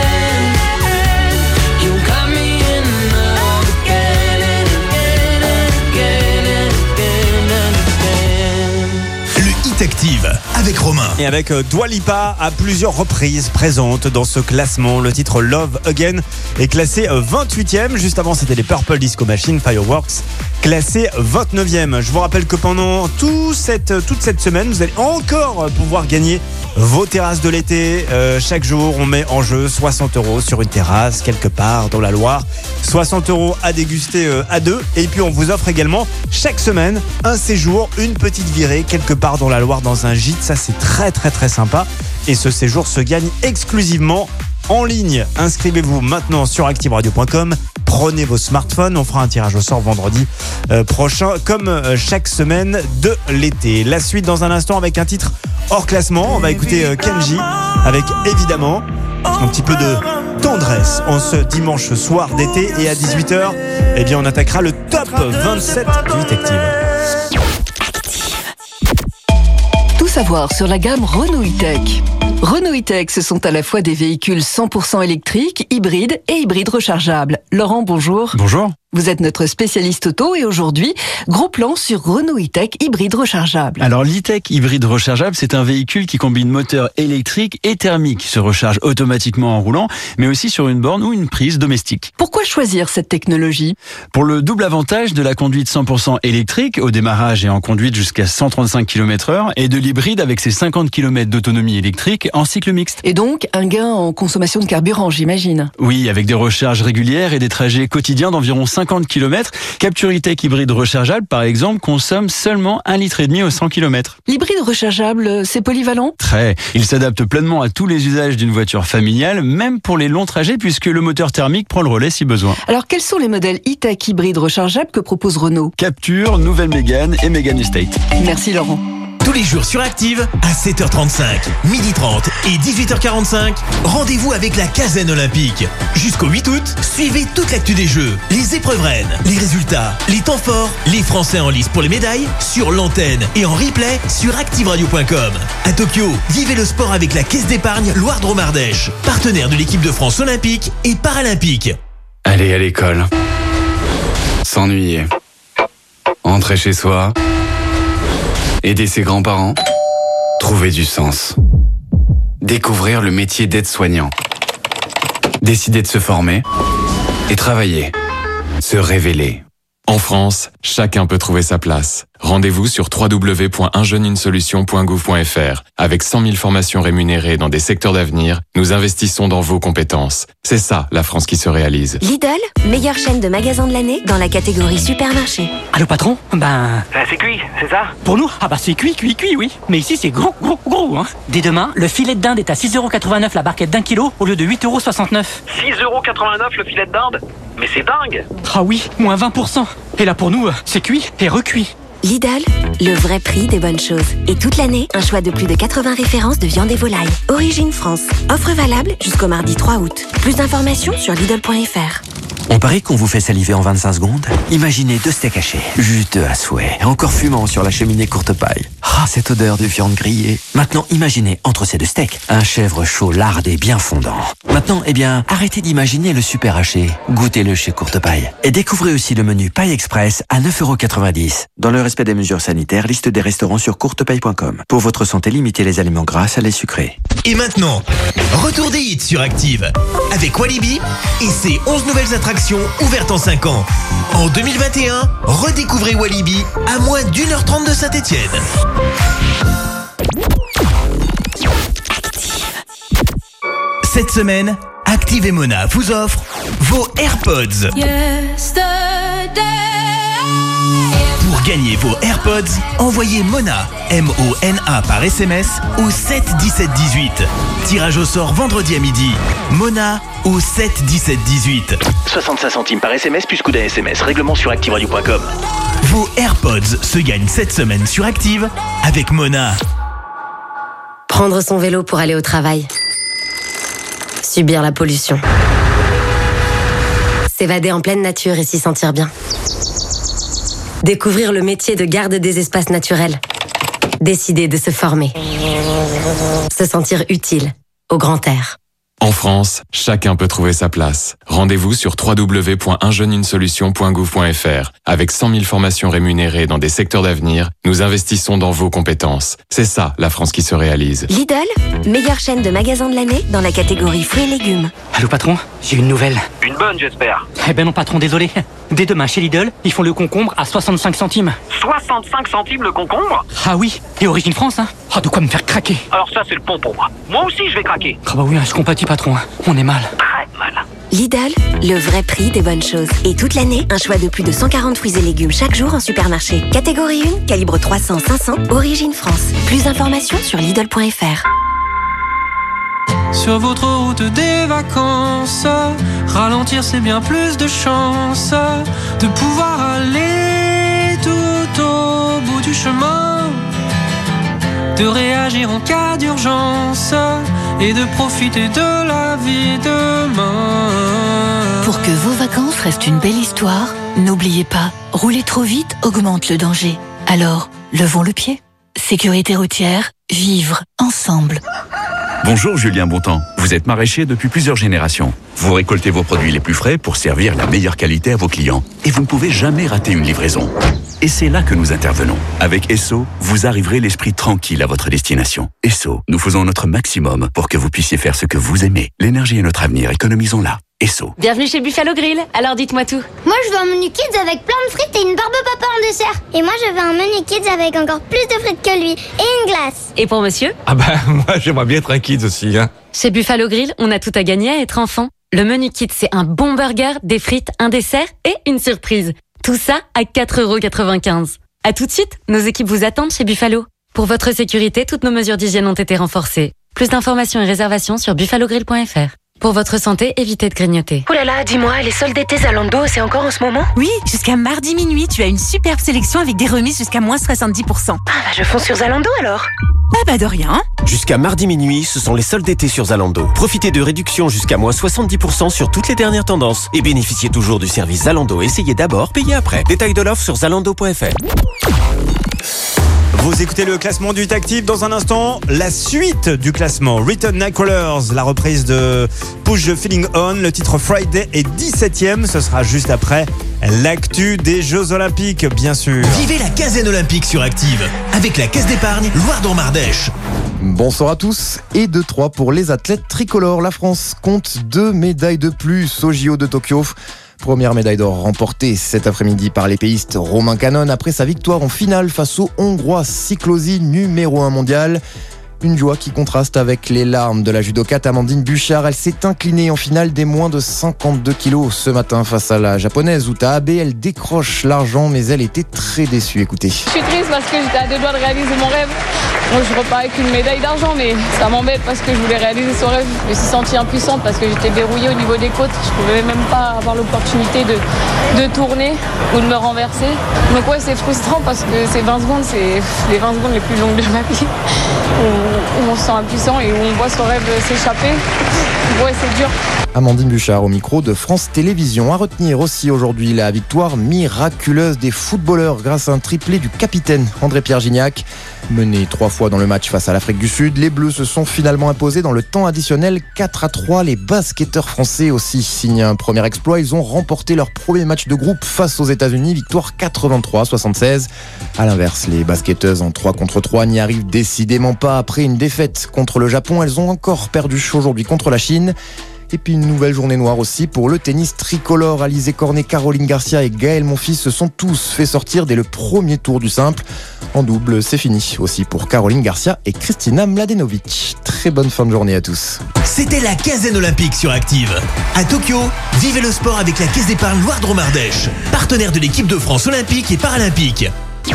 again. You got me in love again and again and again and again and again. Le Hit Active avec Romain. Et avec Dua Lipa à plusieurs reprises présente dans ce classement. Le titre Love Again est classé 28e. Juste avant, c'était les Purple Disco Machine, Fireworks, classé 29e. Je vous rappelle que pendant toute cette semaine, vous allez encore pouvoir gagner vos terrasses de l'été. Chaque jour, on met en jeu 60 € sur une terrasse quelque part dans la Loire. 60 € à déguster à deux. Et puis, on vous offre également chaque semaine un séjour, une petite virée quelque part dans la Loire dans un gîte. Ça, c'est très très très sympa. Et ce séjour se gagne exclusivement en ligne. Inscrivez-vous maintenant sur activeradio.com. Prenez vos smartphones. On fera un tirage au sort vendredi prochain, comme chaque semaine de l'été. La suite dans un instant avec un titre hors classement. On va écouter Kenji avec évidemment un petit peu de tendresse en ce dimanche soir d'été. Et à 18h, eh bien, on attaquera le top 27 du Hit Active. Tout savoir sur la gamme Renault E-Tech. Renault E-Tech, ce sont à la fois des véhicules 100% électriques, hybrides et hybrides rechargeables. Laurent, bonjour. Bonjour. Vous êtes notre spécialiste auto et aujourd'hui, gros plan sur Renault E-Tech hybride rechargeable. Alors l'e-Tech hybride rechargeable, c'est un véhicule qui combine moteur électrique et thermique, se recharge automatiquement en roulant, mais aussi sur une borne ou une prise domestique. Pourquoi choisir cette technologie ? Pour le double avantage de la conduite 100% électrique au démarrage et en conduite jusqu'à 135 km/h et de l'hybride avec ses 50 km d'autonomie électrique en cycle mixte. Et donc un gain en consommation de carburant, j'imagine. Oui, avec des recharges régulières et des trajets quotidiens d'environ 5 50 km. Capture E-Tech hybride rechargeable, par exemple, consomme seulement 1,5 litre au 100 km. L'hybride rechargeable, c'est polyvalent? Très. Il s'adapte pleinement à tous les usages d'une voiture familiale, même pour les longs trajets, puisque le moteur thermique prend le relais si besoin. Alors, quels sont les modèles E-Tech hybrides rechargeables que propose Renault? Capture, Nouvelle Mégane et Mégane Estate. Merci Laurent. Tous les jours sur Active, à 7h35, 12h30 et 18h45, rendez-vous avec la Caserne Olympique. Jusqu'au 8 août, suivez toute l'actu des Jeux, les épreuves reines, les résultats, les temps forts, les Français en lice pour les médailles, sur l'antenne et en replay sur ActiveRadio.com. À Tokyo, vivez le sport avec la Caisse d'épargne Loire-Drôme-Ardèche, partenaire de l'équipe de France olympique et paralympique. Aller à l'école. S'ennuyer. Rentrer chez soi. Aider ses grands-parents. Trouver du sens. Découvrir le métier d'aide-soignant. Décider de se former. Et travailler. Se révéler. En France, chacun peut trouver sa place. Rendez-vous sur www.unjeuneunesolution.gouv.fr. Avec 100 000 formations rémunérées dans des secteurs d'avenir, nous investissons dans vos compétences. C'est ça, la France qui se réalise. Lidl, meilleure chaîne de magasins de l'année dans la catégorie supermarché. Allô patron? C'est cuit, c'est ça? Pour nous? C'est cuit, oui. Mais ici c'est gros, hein. Dès demain, le filet de dinde est à 6,89€ la barquette d'1 kilo au lieu de 8,69€. 6,89€ le filet de dinde? Mais c'est dingue! Ah oui, moins 20%. Et là pour nous, c'est cuit et recuit. Lidl, le vrai prix des bonnes choses. Et toute l'année, un choix de plus de 80 références de viande et volaille. Origine France. Offre valable jusqu'au mardi 3 août. Plus d'informations sur Lidl.fr. On parie qu'on vous fait saliver en 25 secondes? Imaginez 2 steaks hachés, juteux à souhait, encore fumant sur la cheminée courte paille. Ah, cette odeur de viande grillée. Maintenant, imaginez, entre ces 2 steaks, un chèvre chaud lardé bien fondant. Maintenant, arrêtez d'imaginer le super haché. Goûtez-le chez Courte Paille. Et découvrez aussi le menu Paille Express à 9,90€. Dans le respect des mesures sanitaires, liste des restaurants sur courtepaille.com. Pour votre santé, limitez les aliments gras, salés, sucrés. Et maintenant, retour des hits sur Active. Avec Walibi et ses 11 nouvelles attractions ouvertes en 5 ans. En 2021, redécouvrez Walibi à moins d'1h30 de Saint-Étienne. Cette semaine, Active et Mona vous offrent vos AirPods. Pour gagner vos AirPods, envoyez Mona, M-O-N-A par SMS au 7 17 18. Tirage au sort vendredi à midi. Mona au 7 17 18. 65 centimes par SMS plus coup d'un SMS. Règlement sur ActiveRadio.com. Vos AirPods se gagnent cette semaine sur Active avec Mona. Prendre son vélo pour aller au travail. Subir la pollution. S'évader en pleine nature et s'y sentir bien. Découvrir le métier de garde des espaces naturels. Décider de se former. Se sentir utile au grand air. En France, chacun peut trouver sa place. Rendez-vous sur www.unjeuneunesolution.gouv.fr. Avec 100 000 formations rémunérées dans des secteurs d'avenir, nous investissons dans vos compétences. C'est ça, la France qui se réalise. Lidl, meilleure chaîne de magasins de l'année dans la catégorie fruits et légumes. Allô patron, j'ai une nouvelle. Une bonne, j'espère. Non patron, désolé. Dès demain chez Lidl, ils font le concombre à 65 centimes. 65 centimes le concombre? Ah oui, et origine France, hein. De quoi me faire craquer. Alors ça, c'est le pont pour moi. Moi aussi, je vais craquer. Oui, je compatis patron, on est mal. Très mal. Lidl, le vrai prix des bonnes choses. Et toute l'année, un choix de plus de 140 fruits et légumes chaque jour en supermarché. Catégorie 1, calibre 300-500, origine France. Plus d'informations sur Lidl.fr. Sur votre route des vacances, ralentir c'est bien plus de chance de pouvoir aller tout au bout du chemin, de réagir en cas d'urgence et de profiter de la vie demain. Pour que vos vacances restent une belle histoire, n'oubliez pas, rouler trop vite augmente le danger. Alors, levons le pied. Sécurité routière, vivre ensemble. Bonjour Julien Bontemps, vous êtes maraîcher depuis plusieurs générations. Vous récoltez vos produits les plus frais pour servir la meilleure qualité à vos clients. Et vous ne pouvez jamais rater une livraison. Et c'est là que nous intervenons. Avec Esso, vous arriverez l'esprit tranquille à votre destination. Esso, nous faisons notre maximum pour que vous puissiez faire ce que vous aimez. L'énergie est notre avenir, économisons-la. Esso. Bienvenue chez Buffalo Grill, alors dites-moi tout. Moi je veux un menu kids avec plein de frites et une barbe papa en dessert. Et moi je veux un menu kids avec encore plus de frites que lui et une glace. Et pour monsieur? Moi j'aimerais bien être un kids aussi, hein. Chez Buffalo Grill, on a tout à gagner à être enfant. Le menu kit, c'est un bon burger, des frites, un dessert et une surprise. Tout ça à 4,95 €. À tout de suite, nos équipes vous attendent chez Buffalo. Pour votre sécurité, toutes nos mesures d'hygiène ont été renforcées. Plus d'informations et réservations sur buffalogrill.fr. Pour votre santé, évitez de grignoter. Oh là là, dis-moi, les soldes d'été Zalando, c'est encore en ce moment? Oui, jusqu'à mardi minuit, tu as une superbe sélection avec des remises jusqu'à moins 70%. Ah bah je fonce sur Zalando alors. Ah bah de rien. Jusqu'à mardi minuit, ce sont les soldes d'été sur Zalando. Profitez de réductions jusqu'à moins 70% sur toutes les dernières tendances. Et bénéficiez toujours du service Zalando. Essayez d'abord, payez après. Détails de l'offre sur zalando.fr. Vous écoutez le classement du Hit Active. Dans un instant, la suite du classement. Return Nightcrawlers, la reprise de Push the Feeling On. Le titre Friday est 17ème. Ce sera juste après l'actu des Jeux Olympiques, bien sûr. Vivez la quinzaine olympique sur Active avec la Caisse d'épargne Loire-Dormardèche. Bonsoir à tous. Et 2-3 pour les athlètes tricolores. La France compte 2 médailles de plus au JO de Tokyo. Première médaille d'or remportée cet après-midi par l'épéiste Romain Canon après sa victoire en finale face au Hongrois Siklosi, numéro 1 mondial. Une joie qui contraste avec les larmes de la judokate Amandine Buchard. Elle s'est inclinée en finale des moins de 52 kilos ce matin face à la japonaise Uta Abe. Elle décroche l'argent, mais elle était très déçue. Écoutez. Je suis triste parce que j'étais à 2 doigts de réaliser mon rêve. Moi, je repars avec une médaille d'argent, mais ça m'embête parce que je voulais réaliser ce rêve. Je me suis sentie impuissante parce que j'étais verrouillée au niveau des côtes. Je pouvais même pas avoir l'opportunité de tourner ou de me renverser. Donc ouais, c'est frustrant parce que ces 20 secondes, c'est les 20 secondes les plus longues de ma vie. Où on se sent impuissant et où on voit son rêve s'échapper. Ouais, c'est dur. Amandine Buchard au micro de France Télévisions. À retenir aussi aujourd'hui la victoire miraculeuse des footballeurs grâce à un triplé du capitaine André-Pierre Gignac. Menés 3 fois dans le match face à l'Afrique du Sud, les Bleus se sont finalement imposés dans le temps additionnel 4-3. Les basketteurs français aussi signent un premier exploit. Ils ont remporté leur premier match de groupe face aux États-Unis, victoire 83-76. À l'inverse, les basketteuses en 3 contre 3 n'y arrivent décidément pas. Après une défaite contre le Japon, elles ont encore perdu aujourd'hui contre la Chine. Et puis une nouvelle journée noire aussi pour le tennis tricolore. Alizé Cornet, Caroline Garcia et Gaël Monfils se sont tous fait sortir dès le premier tour du simple. En double, c'est fini aussi pour Caroline Garcia et Kristina Mladenovic. Très bonne fin de journée à tous. C'était la quinzaine olympique sur Active. À Tokyo, vivez le sport avec la Caisse d'épargne Loire-Dromardèche, partenaire de l'équipe de France olympique et paralympique.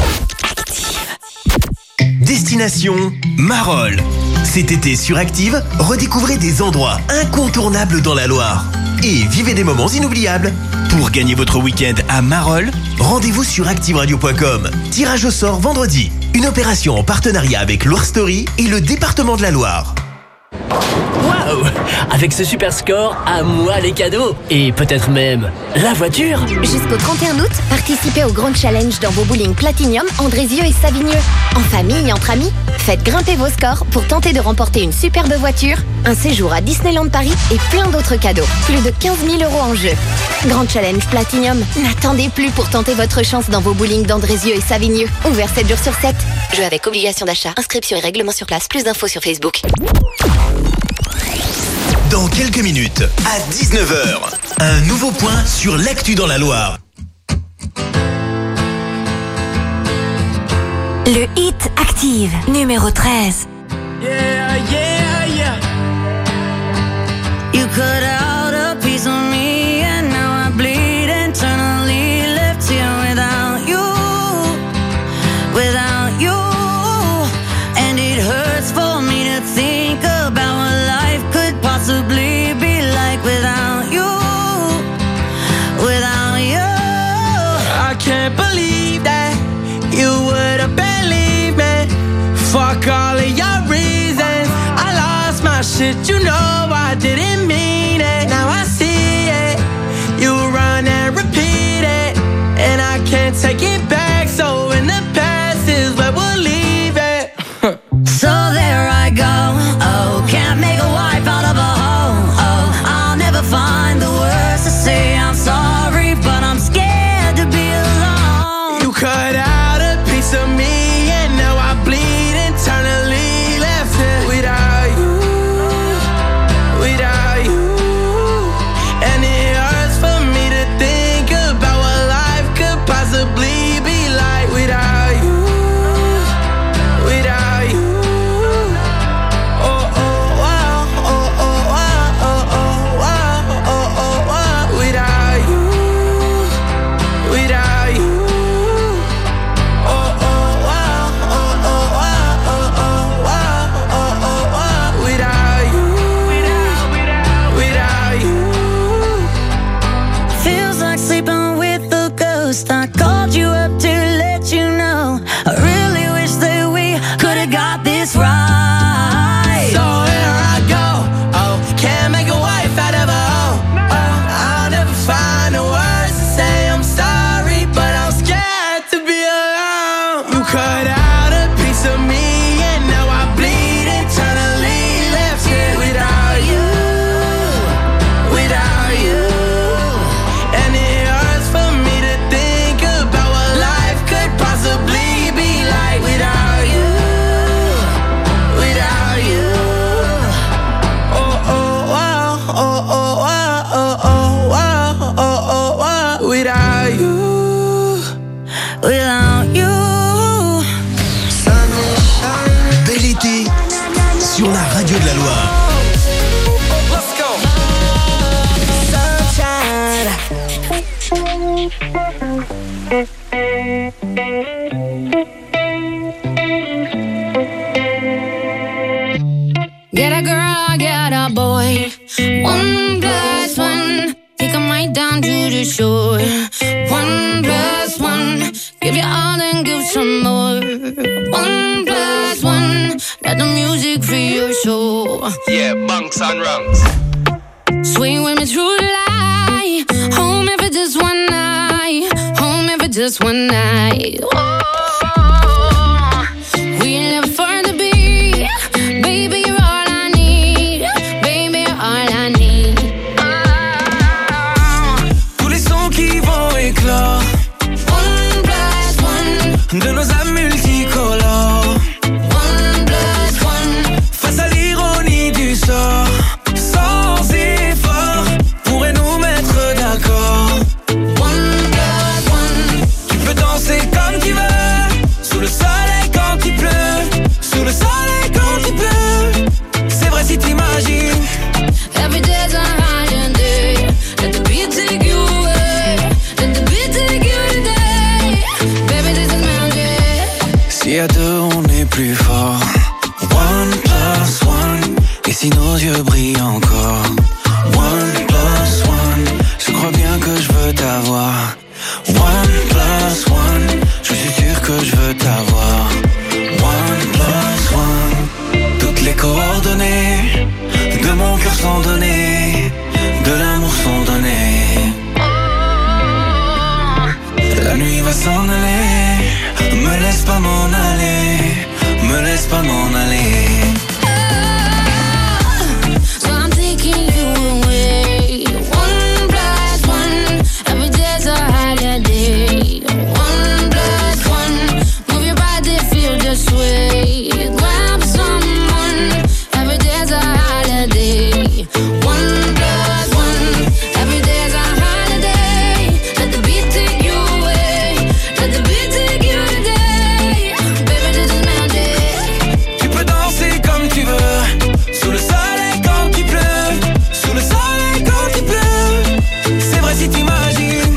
Destination Marolles. Cet été sur Active, redécouvrez des endroits incontournables dans la Loire et vivez des moments inoubliables. Pour gagner votre week-end à Marolles, rendez-vous sur activeradio.com. Tirage au sort vendredi. Une opération en partenariat avec Loire Story et le département de la Loire. Waouh! Avec ce super score, à moi les cadeaux. Et peut-être même la voiture. Jusqu'au 31 août, participez au Grand Challenge dans vos bowling Platinium, Andrézieux et Savigneux. En famille, entre amis, faites grimper vos scores pour tenter de remporter une superbe voiture, un séjour à Disneyland Paris et plein d'autres cadeaux. Plus de 15 000 € en jeu. Grand Challenge Platinium. N'attendez plus pour tenter votre chance dans vos bowling d'Andrézieux et Savigneux. Ouvert 7 jours sur 7. Jeu avec obligation d'achat. Inscription et règlement sur place. Plus d'infos sur Facebook. Dans quelques minutes, à 19h, un nouveau point sur l'actu dans la Loire. Le Hit Active, numéro 13. Yeah, yeah, yeah. You cut out a piece of me and now I bleed internally. Left here without you, without you. And it hurts for me to think about what life could possibly be like without you, without you. I can't believe that you would have believed me. Fuck all of your reasons. I lost my shit, you know I didn't mean it. Now I see it. You run and repeat it, and I can't take it back. So in the past is where we'll leave it. So there I go. Oh, can't make a wife out of a hoe. Oh, I'll never find the words to say I'm sorry, but I'm scared to be alone. You cut out a piece of me, and now I bleed internally. Left it without you, without you. And it hurts for me to think about what life could possibly radio de la Loire. Let's go. Get a girl, get a boy. 1+1. Take 'em right down to the shore. 1+1. Give you all and give some more. 1+1. Let the music free your soul. Yeah, bunks and rungs. Swing with me through the light. Home if it's just one night. Home if it's just one night. Oh, we live for the beat. Baby, you're all I need. Baby, you're all I need. Tous les sons qui vont éclore. 1+1. De nos âmes multicolores. 1+1. Face à l'ironie du sort. Sans effort. Pourrait nous mettre d'accord. 1+1. Tu peux danser comme tu veux. Sous le soleil quand il pleut. Sous le soleil quand il pleut. C'est vrai si t'imagines. Every day's a holiday. Let the beat take you away. Let the beat take you today. Baby, this is magic. Si à deux on est plus fort. 1+1. Et si nos yeux brillent encore. 1+1. Je crois bien que je veux t'avoir. 1+1. Je suis sûr que je veux t'avoir. 1+1. Toutes les coordonnées de mon cœur sont données. De l'amour sont données. La nuit va s'en aller. Me laisse pas m'en aller. Me laisse pas m'en aller. So I'm taking you away. 1+1. Every day's a holiday. 1+1. Move your body, feel the sway. Grab someone. Every day's a holiday. 1+1. Every day's a holiday. Let the beat take you away. Let the beat take you today. Baby, this is magic. Tu peux danser comme tu veux. Sous le soleil quand il pleut. Sous le soleil quand il pleut. C'est vrai si t'imagines.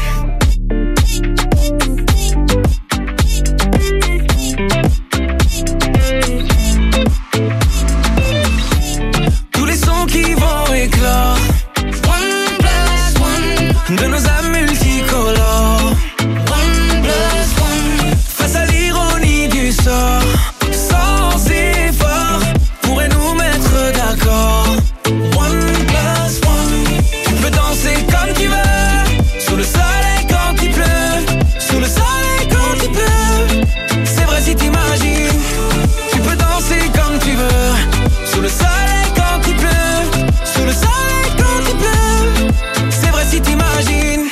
Tous les sons qui vont éclore. 1+1. De nos âmes multicolores. 1+1. Face à l'ironie du sort. Sans effort. Pourrait nous mettre d'accord. 1+1. Tu peux danser comme tu veux. Sous le soleil quand il pleut. Sous le soleil quand il pleut. C'est vrai si t'imagines. Tu peux danser comme tu veux. Sous le soleil quand il pleut. Sous le soleil quand il pleut. C'est vrai si t'imagines.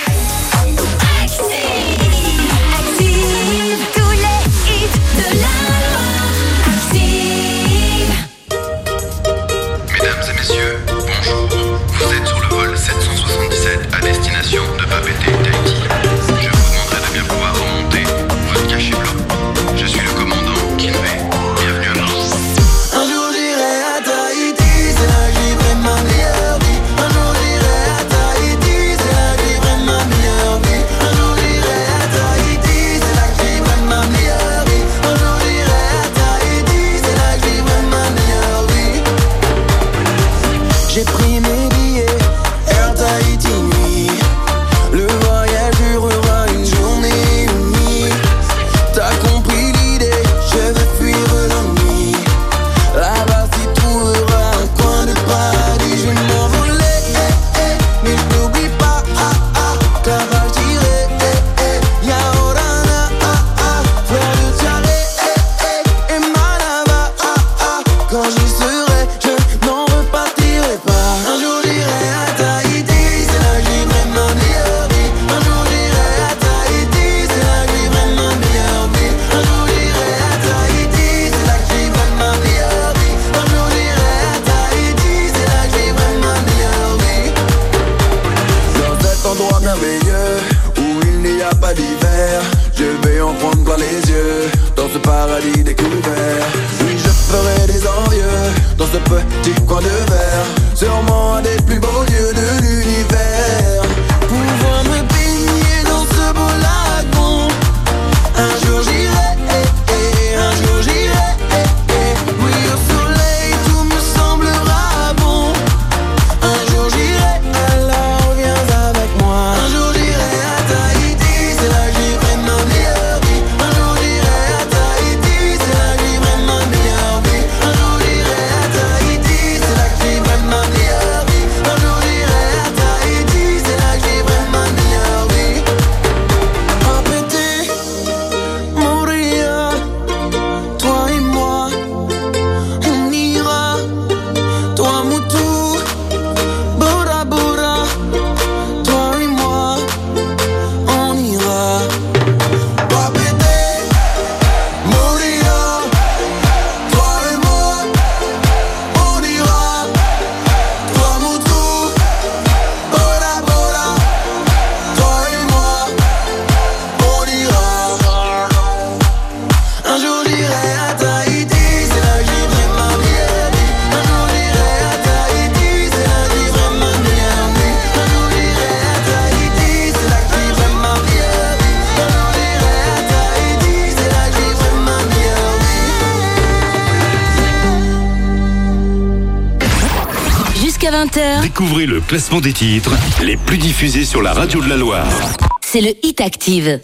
Active tous les hits de la Loire. Active. Mesdames et messieurs, bonjour. Vous êtes sur le vol 777 à destination de Papeete, Tahiti. Je vous demanderai de bien pouvoir remonter votre cachet blanc. Je suis le commandant Kinvey. Bienvenue à bord. Un jour j'irai à Tahiti, c'est là que vivrai ma meilleure vie. Un jour j'irai à Tahiti, c'est là que vivrai ma meilleure vie. Un jour j'irai à Tahiti, c'est là que vivrai ma meilleure vie. Un jour j'irai à Tahiti, c'est là que vivrai ma meilleure vie. J'ai pris mes billets, Air Tahiti nuit. Le voyage durera une journée, une nuit. T'as compris l'idée, je veux fuir l'ennui. Là-bas tu trouveras un coin de paradis. Je vais m'envoler, mais je t'oublie pas. Là-bas j'irai, Yaorana, fleur de tiare, et Malaba. Quand j'y serai, je n'en repartirai pas. Un jour j'irai à Tahiti, c'est là que vivrai ma meilleure vie. Un jour j'irai à Tahiti, c'est là que vivrai ma meilleure vie. Un jour j'irai à Tahiti, c'est là que vivrai ma meilleure vie. Un jour j'irai à Tahiti, c'est là que vivrai ma meilleure vie. Dans cet endroit merveilleux où il n'y a pas d'hiver, je vais en prendre plein les yeux. Dans ce paradis découvert, oui je ferai des envieux. Dans ce petit coin de verre, sûrement un des plus beaux lieux de l'univers. Pouvoir me baigner dans ce beau lagon. Un jour j'irai, un jour j'irai. Oui, au soleil tout me semblera bon. Un jour j'irai, alors viens avec moi. Un jour j'irai à Tahiti, c'est là que vivrai ma meilleure vie. Un jour j'irai à Tahiti, c'est là que vivrai ma meilleure vie. Un jour j'irai à Tahiti, c'est là que vivrai ma meilleure vie. Un jour j'irai à Tahiti, c'est là que vivrai ma meilleure vie. Répétez, Moria, toi et moi, on ira. Toi Moutou, Bora Bora, toi et moi, on ira. Répétez, Moria, toi et moi, on ira. Toi Moutou, Bora Bora, toi et moi, on ira. Un jour j'irai à Tahiti, c'est là que vivrai ma meilleure vie. Un jour j'irai à Tahiti, c'est là que vivrai ma meilleure vie. Un jour j'irai à Tahiti, c'est là que vivrai ma meilleure vie. Un jour j'irai à Tahiti, c'est là que vivrai ma meilleure vie. Jusqu'à 20h, Découvrez le classement des titres les plus diffusés sur la radio de la Loire. c'est le Hit Active.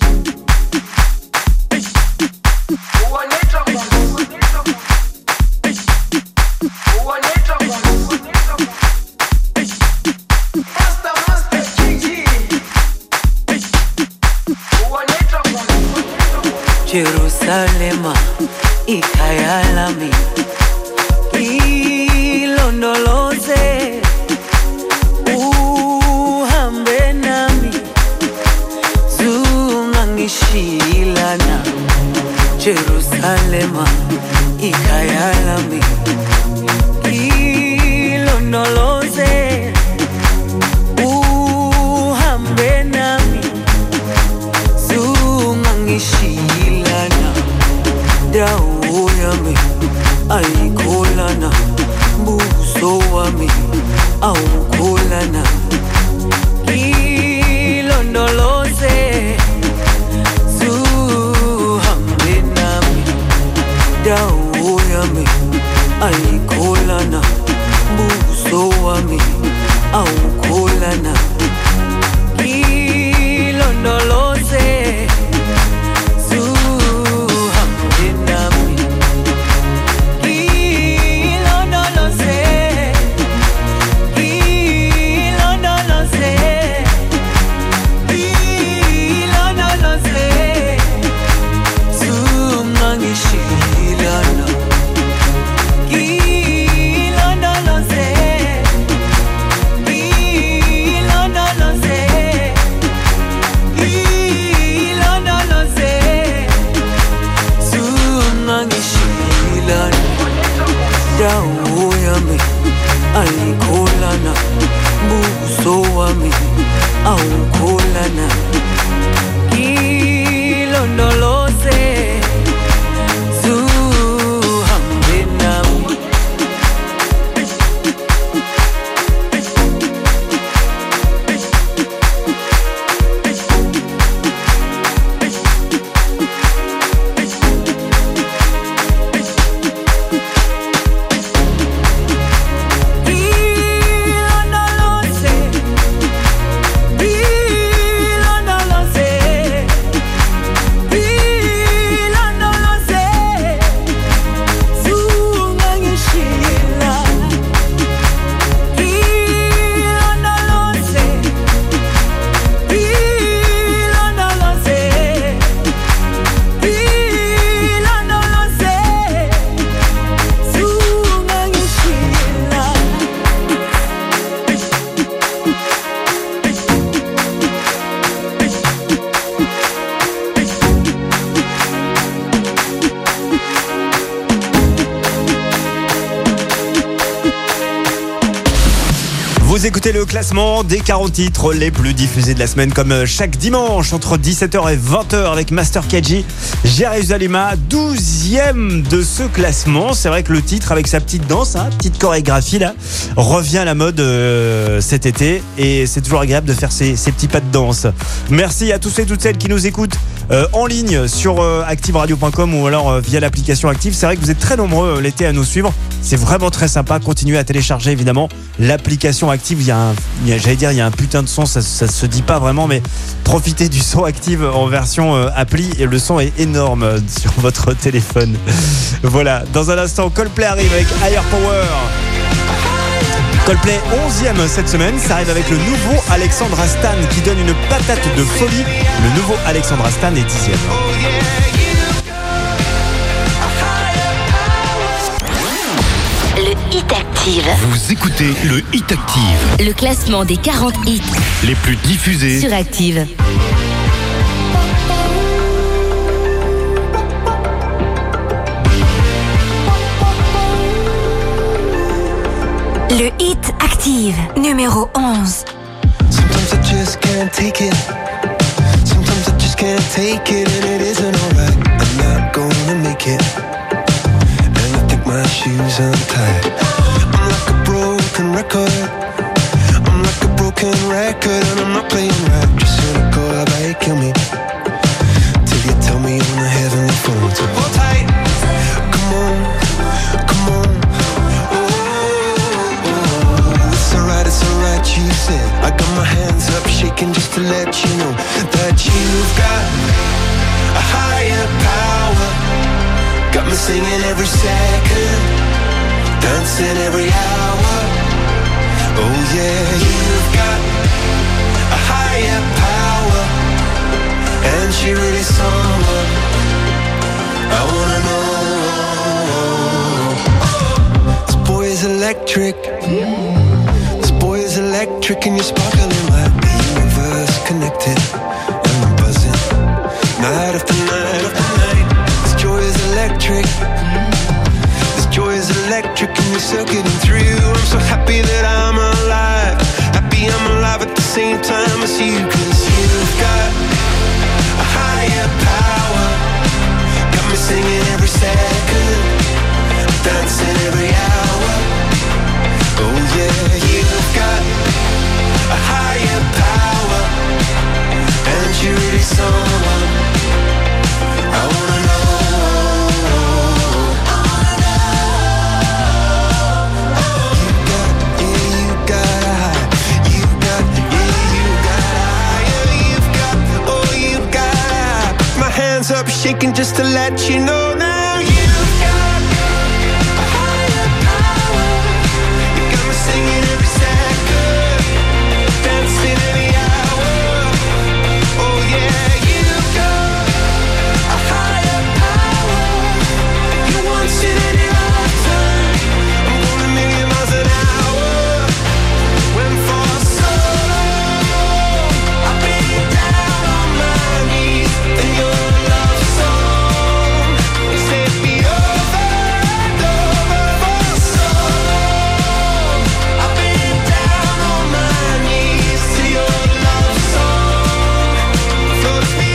Jerusalema, ikhaya lami, ilondoloze, uhambe nami, zungangishilana. Jerusalema, ikhaya lami, ilondoloze, uhambe nami, zungangishilana. Dawo yami ayikholana, buso wami awukholana. Ilondoloze, zuhambe nami. Dawo yami ayikholana, buso wami awukholana. Ilondoloze, dawo yami ayikholana, buso wami awukholana. Ilondoloze, zuhambe nami. Ilondoloze, Vous écoutez le classement des 40 titres les plus diffusés de la semaine, comme chaque dimanche entre 17h et 20h avec Master KG. Jérusalema, 12e de ce classement. C'est vrai que le titre avec sa petite danse, petite chorégraphie là, revient à la mode cet été, et c'est toujours agréable de faire ces petits pas de danse. Merci à tous et toutes celles qui nous écoutent en ligne sur activeradio.com ou alors via l'application Active. C'est vrai que vous êtes très nombreux l'été à nous suivre. C'est vraiment très sympa. Continuez à télécharger évidemment l'application Active. Il y a un putain de son, ça se dit pas vraiment, mais profitez du son Active en version appli, et le son est énorme sur votre téléphone. Voilà, dans un instant, Coldplay arrive avec Higher Power. Coldplay 11e cette semaine, ça arrive avec le nouveau Alexandre Astan qui donne une patate de folie. Le nouveau Alexandre Astan est 10e. Le Hit Active. Vous écoutez le Hit Active. Le classement des 40 hits Les plus diffusés sur Active. Le Hit Active, numéro 11. Sometimes I just can't take it. Sometimes I just can't take it, and it isn't alright. I'm not gonna make it. And I think my shoes untied. I'm like a broken record. I'm like a broken record, and I'm not playing right. Just cynical, how about you kill me? Till you tell me on the heavenly phone. So hold tight. Come on, come on. It's alright, you said. I got my hands up shaking just to let you know that you've got a higher power. Got me singing every second, dancing every hour. Oh yeah, you've got a higher power, and she really someone I wanna know. This boy is electric. Electric, and you're sparkling like the universe connected. And I'm buzzing night after night after night. This joy is electric. This joy is electric, and you're circuiting through. I'm so happy that I'm alive. Happy I'm alive at the same time as you. 'Cause you've got a higher power. Got me singing every second, dancing every hour. Oh yeah, you've got a higher power, and you're really someone I wanna know. You got a high. You got higher. You've got, oh, you've got high. My hands up shaking just to let you know now. Singing every second, dancing every hour. Oh yeah, you've got a higher power. You want it in your lifetime. I'm going a million miles an hour. When for so long I've been down on my knees, and your love song set me over and over for so long. I've been down on my knees to your love song. Floats me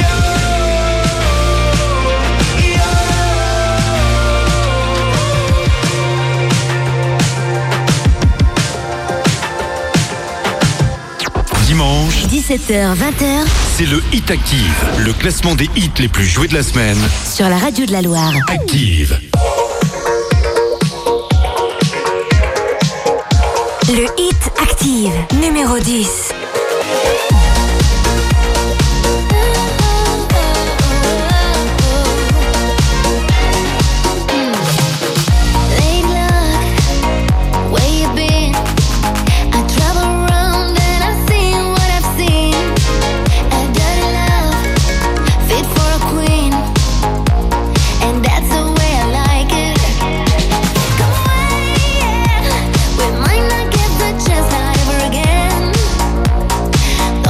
Dimanche, 17h, 20h, c'est le Hit Active, le classement des hits les plus joués de la semaine. sur la radio de la Loire. Active. Le Hit Active, numéro 10. We might not get the chance not ever again.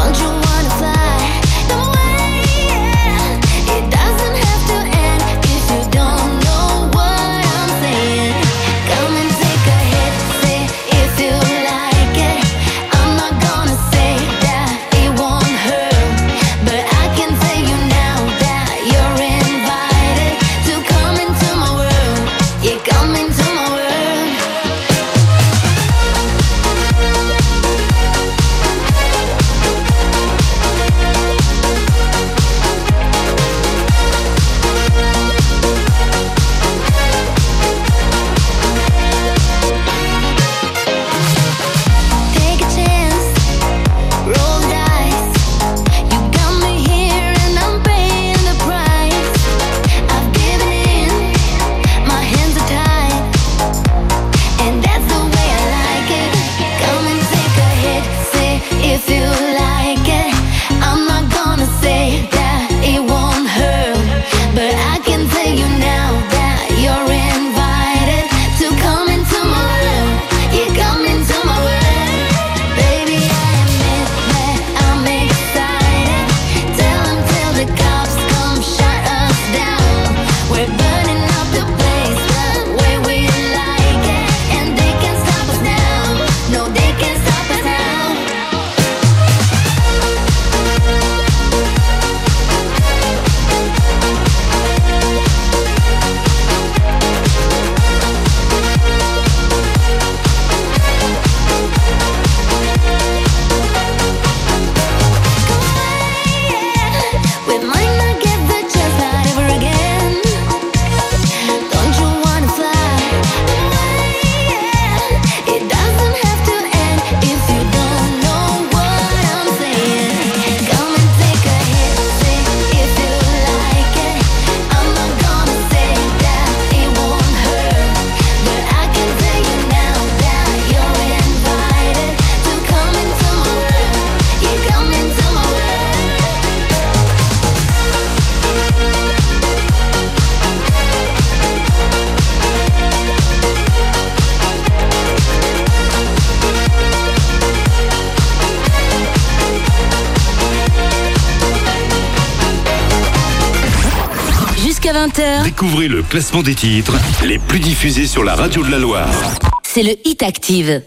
20h. Découvrez le classement des titres les plus diffusés sur la radio de la Loire. C'est le Hit Active.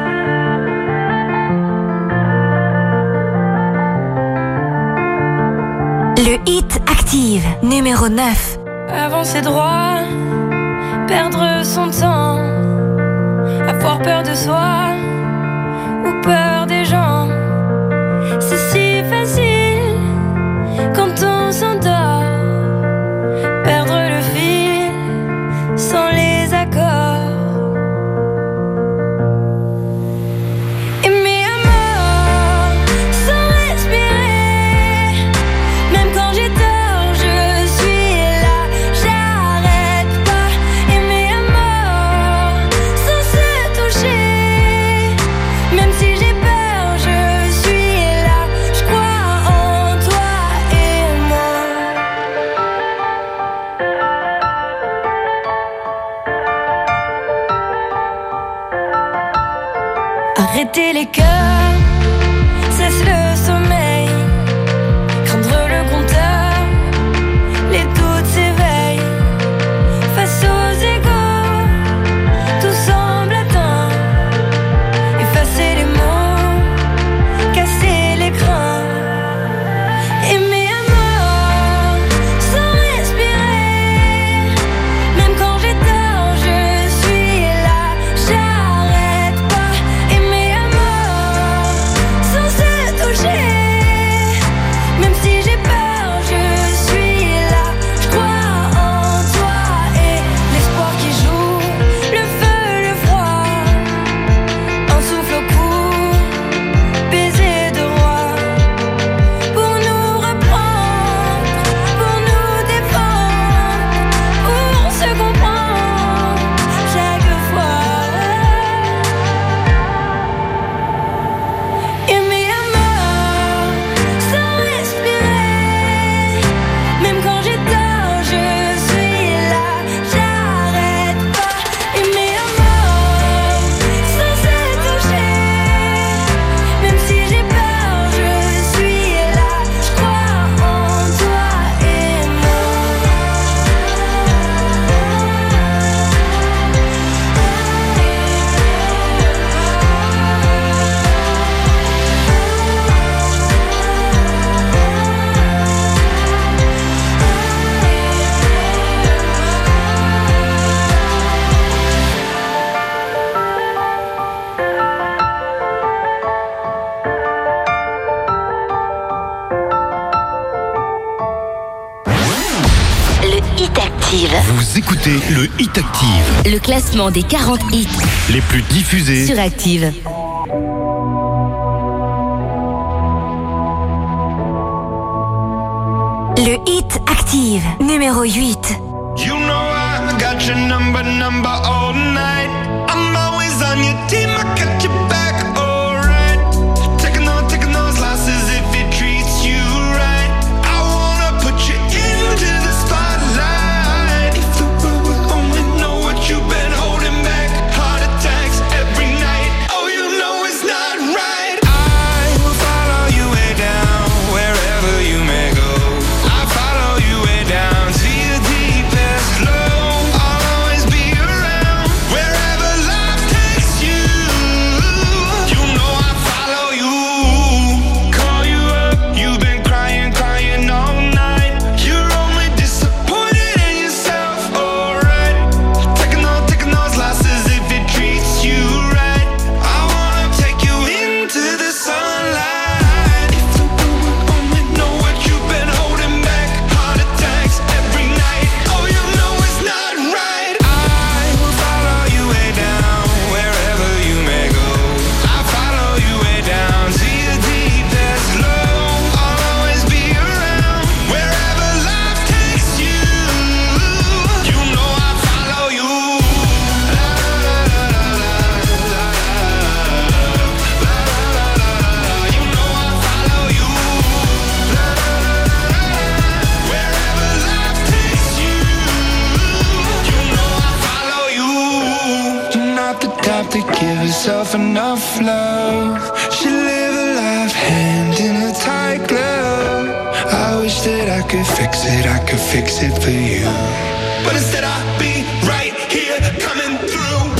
Le Hit Active, numéro 9. Avancer droit, perdre son temps, avoir peur de soi ou peur des gens. C'est si facile quand on s'endort, perdre le fil sans les accords. Aimer à mort sans respirer, même quand j'ai tort, je suis là, j'arrête pas. Aimer à mort sans se toucher, même si j'ai peur, je suis là, je crois en toi et moi. Arrêter les cœurs, cesse le sommeil, craindre le compteur, les doutes s'éveillent. Face aux égaux, tout semble atteint. Effacer les mots, casser l'écran. Aimer à mort, sans respirer, même quand j'ai tort, je suis là, j'arrête pas. Aimer à mort, sans se toucher, même si j'ai peur, je suis là, je crois en toi. Et l'espoir qui joue, le feu, le froid, un souffle au cou, baiser de roi, pour nous reprendre, pour nous défendre, pour se comprendre chaque fois. Aimer à mort, sans respirer, même quand j'ai tort, je suis là, j'arrête pas. Aimer à mort, sans se toucher, même si j'ai peur, je suis là, je crois en toi et moi. Le Hit Active, Vous écoutez le Hit Active, le classement des 40 hits les plus diffusés. sur Active. Le Hit Active, numéro 8. You know I got your number all night. I'm always on your team, I got your back, alright. Taking those losses if it treats you right. I wanna put you into the spotlight. If the world would only know what you've been holding back. Heart attacks every night. Oh, you know it's not right. I will follow you way down, wherever you may go. I follow you way down to your deepest low. I'll always be around wherever life takes you. You know I follow you. Call you up, you've been crying all night. You're only disappointed in yourself, alright. Taking those losses if it treats you right. I wanna take you into the sunlight. If the world would only know what you've been holding back. Heart attacks every night. Oh, you know it's not right. I will follow you way down, wherever you may go. I follow you way down to your deepest low. I'll always be around wherever life takes you. You know I follow you. You know I follow you. Wherever life takes you. You know I follow you. You're not the type to give yourself enough love. She live a life hand in a tight glove. I wish that I could could fix it for you. But instead I'll be right here coming through.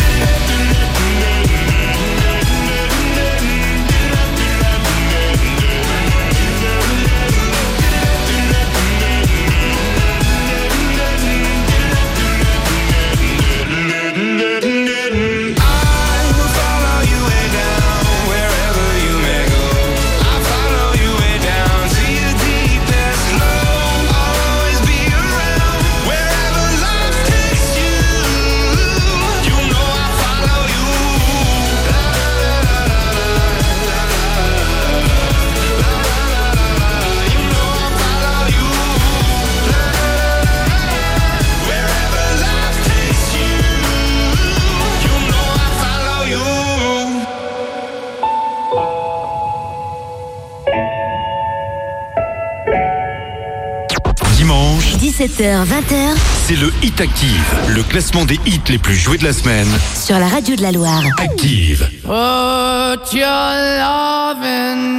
Dimanche, 17h, 20h, c'est le Hit Active, le classement des hits les plus joués de la semaine. sur la radio de la Loire. Active. Put your loving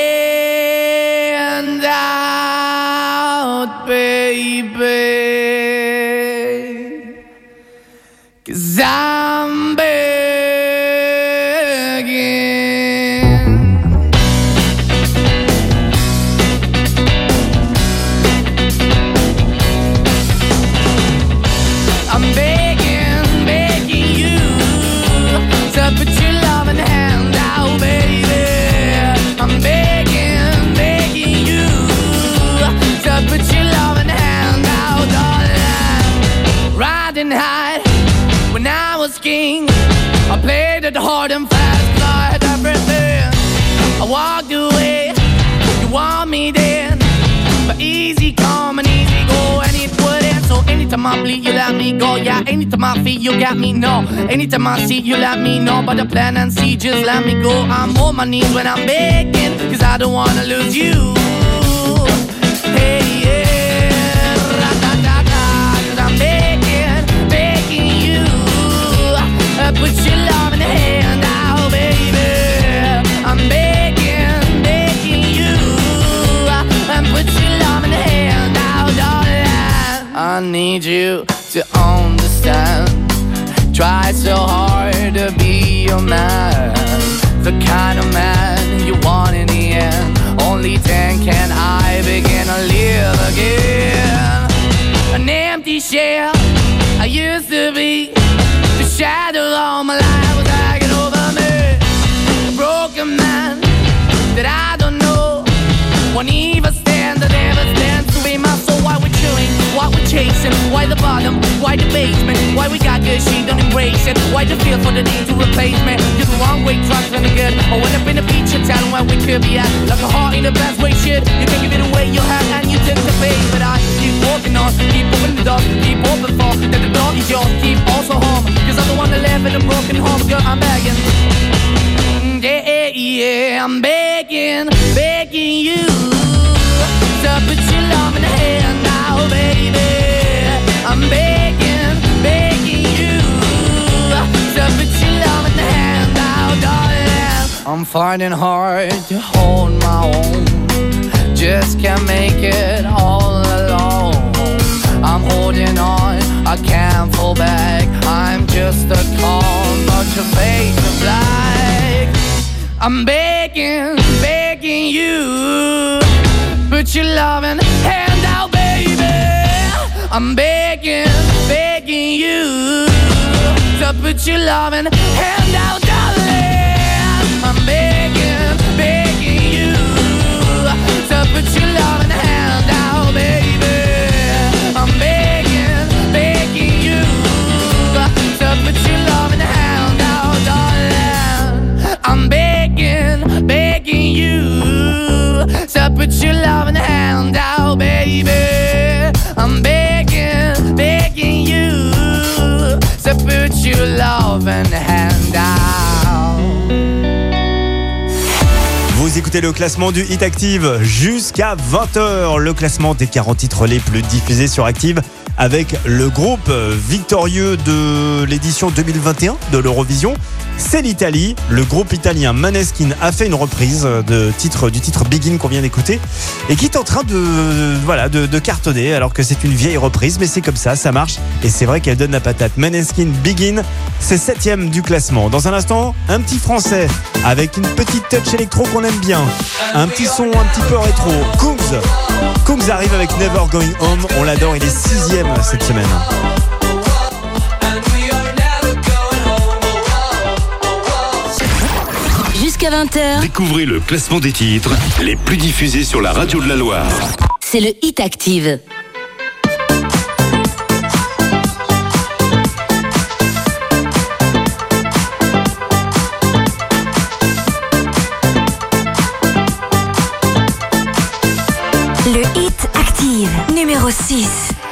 hand out, baby, 'cause I'm begging. I'm begging, begging you to put your loving hand out, baby. I'm begging, begging you to put your loving hand out, darling. Riding high when I was king, I played it hard and fast, got everything. I walked away, you want me then, but easy come and easy go, and it wouldn't. So anytime I bleed, you let me go. Yeah, anytime I feel, you got me, no. Anytime I see, you let me know. But the plan and see, just let me go. I'm on my knees when I'm begging, 'cause I don't wanna lose you. Hey, yeah, ra-da-da-da, 'cause I'm begging, begging you, put your love in the hand out, baby. I'm begging, begging you, put your love in the hand out, darling. I need you to understand. Try so hard to be your man, the kind of man you want in the end. Only then can I begin to live again. An empty shell I used to be, the shadow all my life was hanging over me. A broken man that I don't know won't even stand, that never stands to be my soul. Why we're chilling, why we're chasing, why the bottom, why the basement, why we got good, she don't embrace it, why the feel for the need to replace me. You're the wrong way, trying to good. I went up in a feature town where we could be at, like a heart in the best way, shit. You can give it away, you have, and you take the bait. But I keep walking on, keep opening the door, keep open for, that the door is yours, keep also home. 'Cause I'm the one that live in a broken home, girl, I'm begging. Yeah, yeah, I'm begging, begging you to put your love in the hand now, baby. I'm begging, begging you to put your love in the hand now, darling. I'm finding hard to hold my own, just can't make it all alone. I'm holding on, I can't fall back, I'm just a call, but your face is black. I'm begging, begging you, put your loving hand out, baby. I'm begging, begging you to put your loving hand out, darling. I'm begging, begging you to put your loving hand out, baby. I'm begging, begging you to put your loving hand out, darling. I'm begging, begging you to put your loving hand out, baby. I'm begging, begging you to put your loving hand out. Vous Vous écoutez le classement du Hit Active jusqu'à 20h. Le classement des 40 titres les plus diffusés sur Active avec le groupe victorieux de l'édition 2021 de l'Eurovision. C'est l'Italie. Le groupe italien Måneskin a fait une reprise du titre Begin qu'on vient d'écouter et qui est en train de cartonner alors que c'est une vieille reprise, mais c'est comme ça marche et c'est vrai qu'elle donne la patate. Måneskin Begin, c'est 7e du classement. Dans un instant, un petit français avec une petite touch électro qu'on aime bien, un petit son un petit peu rétro. Kungs arrive avec Never Going Home, on l'adore, il est 6e cette semaine. Jusqu'à 20h, Découvrez le classement des titres les plus diffusés sur la radio de la Loire. c'est le Hit Active. Le Hit Active, numéro 6.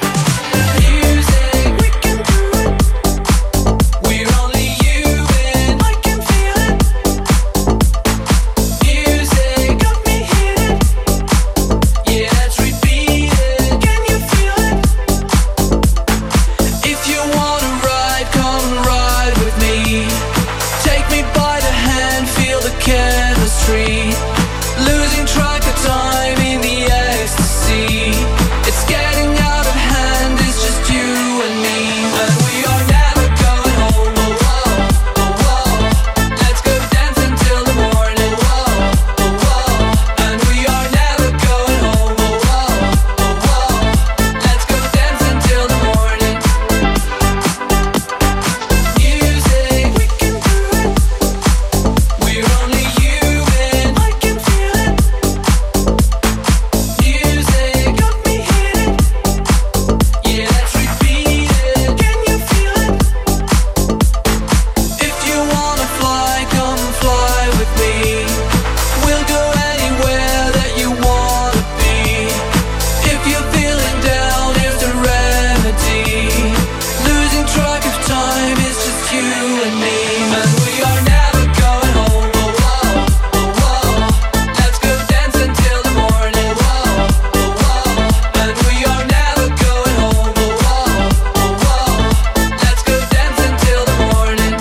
Losing track of time in the ecstasy. It's getting out of hand, it's just you and me. And we are never going home. Oh, whoa, oh, whoa. Let's go dance until the morning. Whoa, oh, whoa. And we are never going home. Oh, whoa, oh, whoa. Let's go dance until the morning. Music, we can do it. We're only human. I can feel it. Music got me hitting. Yeah, let's repeat it. Can you feel it? If you wanna fly, come fly with me. We'll go anywhere that you wanna be. If you're feeling down, here's the remedy. Losing track of time is just you and me. And we are never going home. Oh, whoa, oh, whoa. Let's go dance until the morning. Whoa, oh, whoa. And we are never going home. Oh, whoa, oh, whoa. Let's go dance until the morning.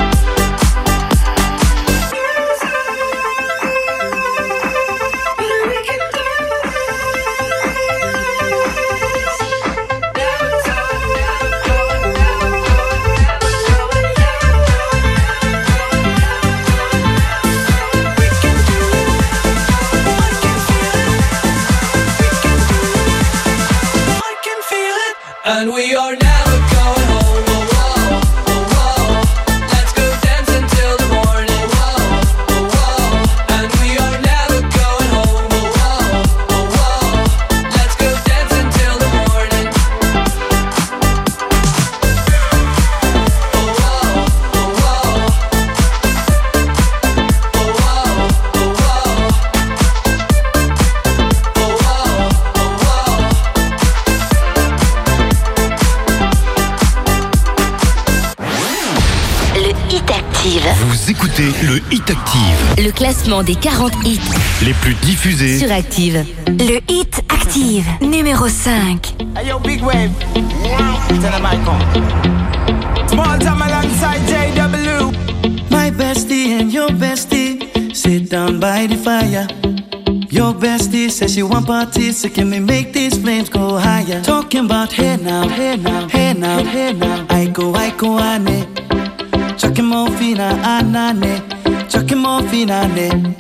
I can feel it. And we are never going home. Oh, whoa, oh, whoa. Let's go dance until the morning. Whoa, oh, whoa. And we are never going home. Oh, whoa, oh, whoa. Let's go dance until the morning. Oh, whoa, oh, whoa. Oh, whoa, oh, whoa. Oh, whoa, oh, whoa. Le Hit Active, Vous écoutez le Hit Active, le classement des 40 hits les plus diffusés. sur Active. Le Hit Active, numéro 5. Hey, yo, big wave. Tell them I come. Small time alongside JW. My bestie and your bestie sit down by the fire. Your bestie says she want parties, so can we make these flames go higher? Talking about hey now, hey now, hey now, hey now. I go, ane. Chucking more fina, anane. Chucking more fina, ane.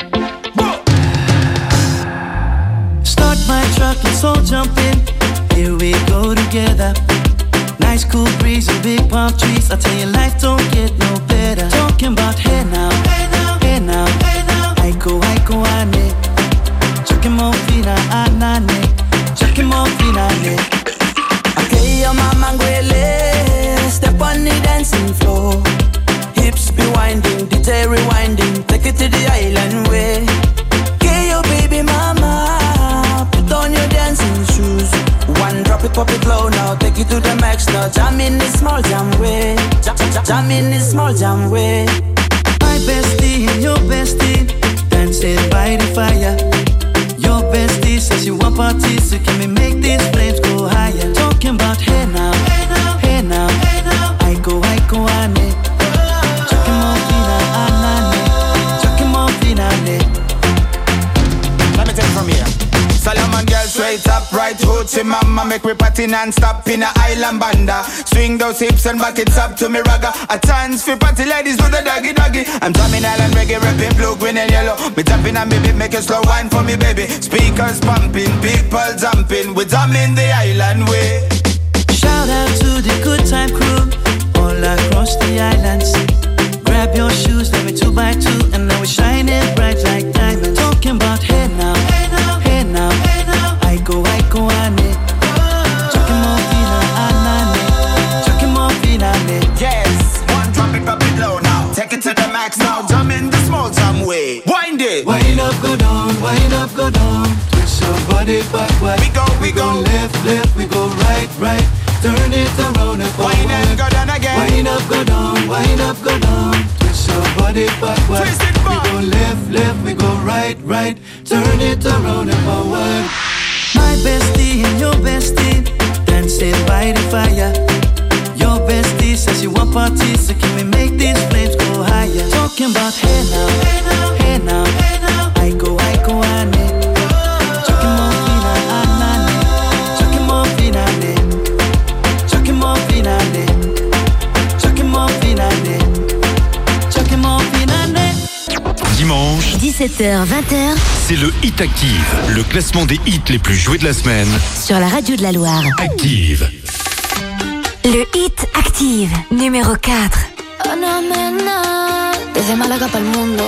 Start my truck, let's all jump in. Here we go together. Nice cool breeze and big palm trees. I tell you, life don't get no better. Talking about hey now, hey now, hey now, hey now. I go, ane. Chucking more fina, anane. Chucking more fina, ane. Okay, your mama ngwele. Step on the dancing floor. Hips be winding, DJ rewinding. Take it to the island way. Okay, your baby mama. Put on your dancing shoes. One drop it, pop it low now. Take it to the max now. Jam in this small jam way. Jam in this small jam way. My bestie and your bestie dancing by the fire. right up, right hoochie mama. Make we party non-stop in a island banda. Swing those hips and back it up to me ragga. A chance for party ladies do the doggy doggy. I'm drumming island reggae, rapping blue, green and yellow. Me tapping and baby, make a slow wine for me baby. Speakers pumping, people jumping. We drumming the island way. Shout out to the good time crew all across the islands. Grab your shoes, let me 2x2, and now we're shining bright like diamonds. Talking about hey now, hey now, hey now, hey now. I go on it. Talking more fina, anane. Talking more fina, yes. One drop it low now. Take it to the max now. Jump in the small jam way. Wind it. Wind up, go down, wind up, go down. Twist your body backward. We go left, left, we go right, right. Turn it around and forward. Wind and go down again. Wind up, go down, wind up, go down. Twist your body backward. Twist it back. We go left, left, we go right, right. Turn it around and forward. My bestie and your bestie dancing by the fire. Your bestie says you want parties, so can we make these flames go higher? Talking about hey now, hey now, hey now, hey now. I go on it. Talking more fina, anane. Talking more fina, talking more fina, talking more fina, talking more fina. Dimanche, 17h, 20h, c'est le Hit Active, le classement des hits les plus joués de la semaine. sur la radio de la Loire. Active. Le Hit Active, numéro 4. Desde Málaga para el mundo.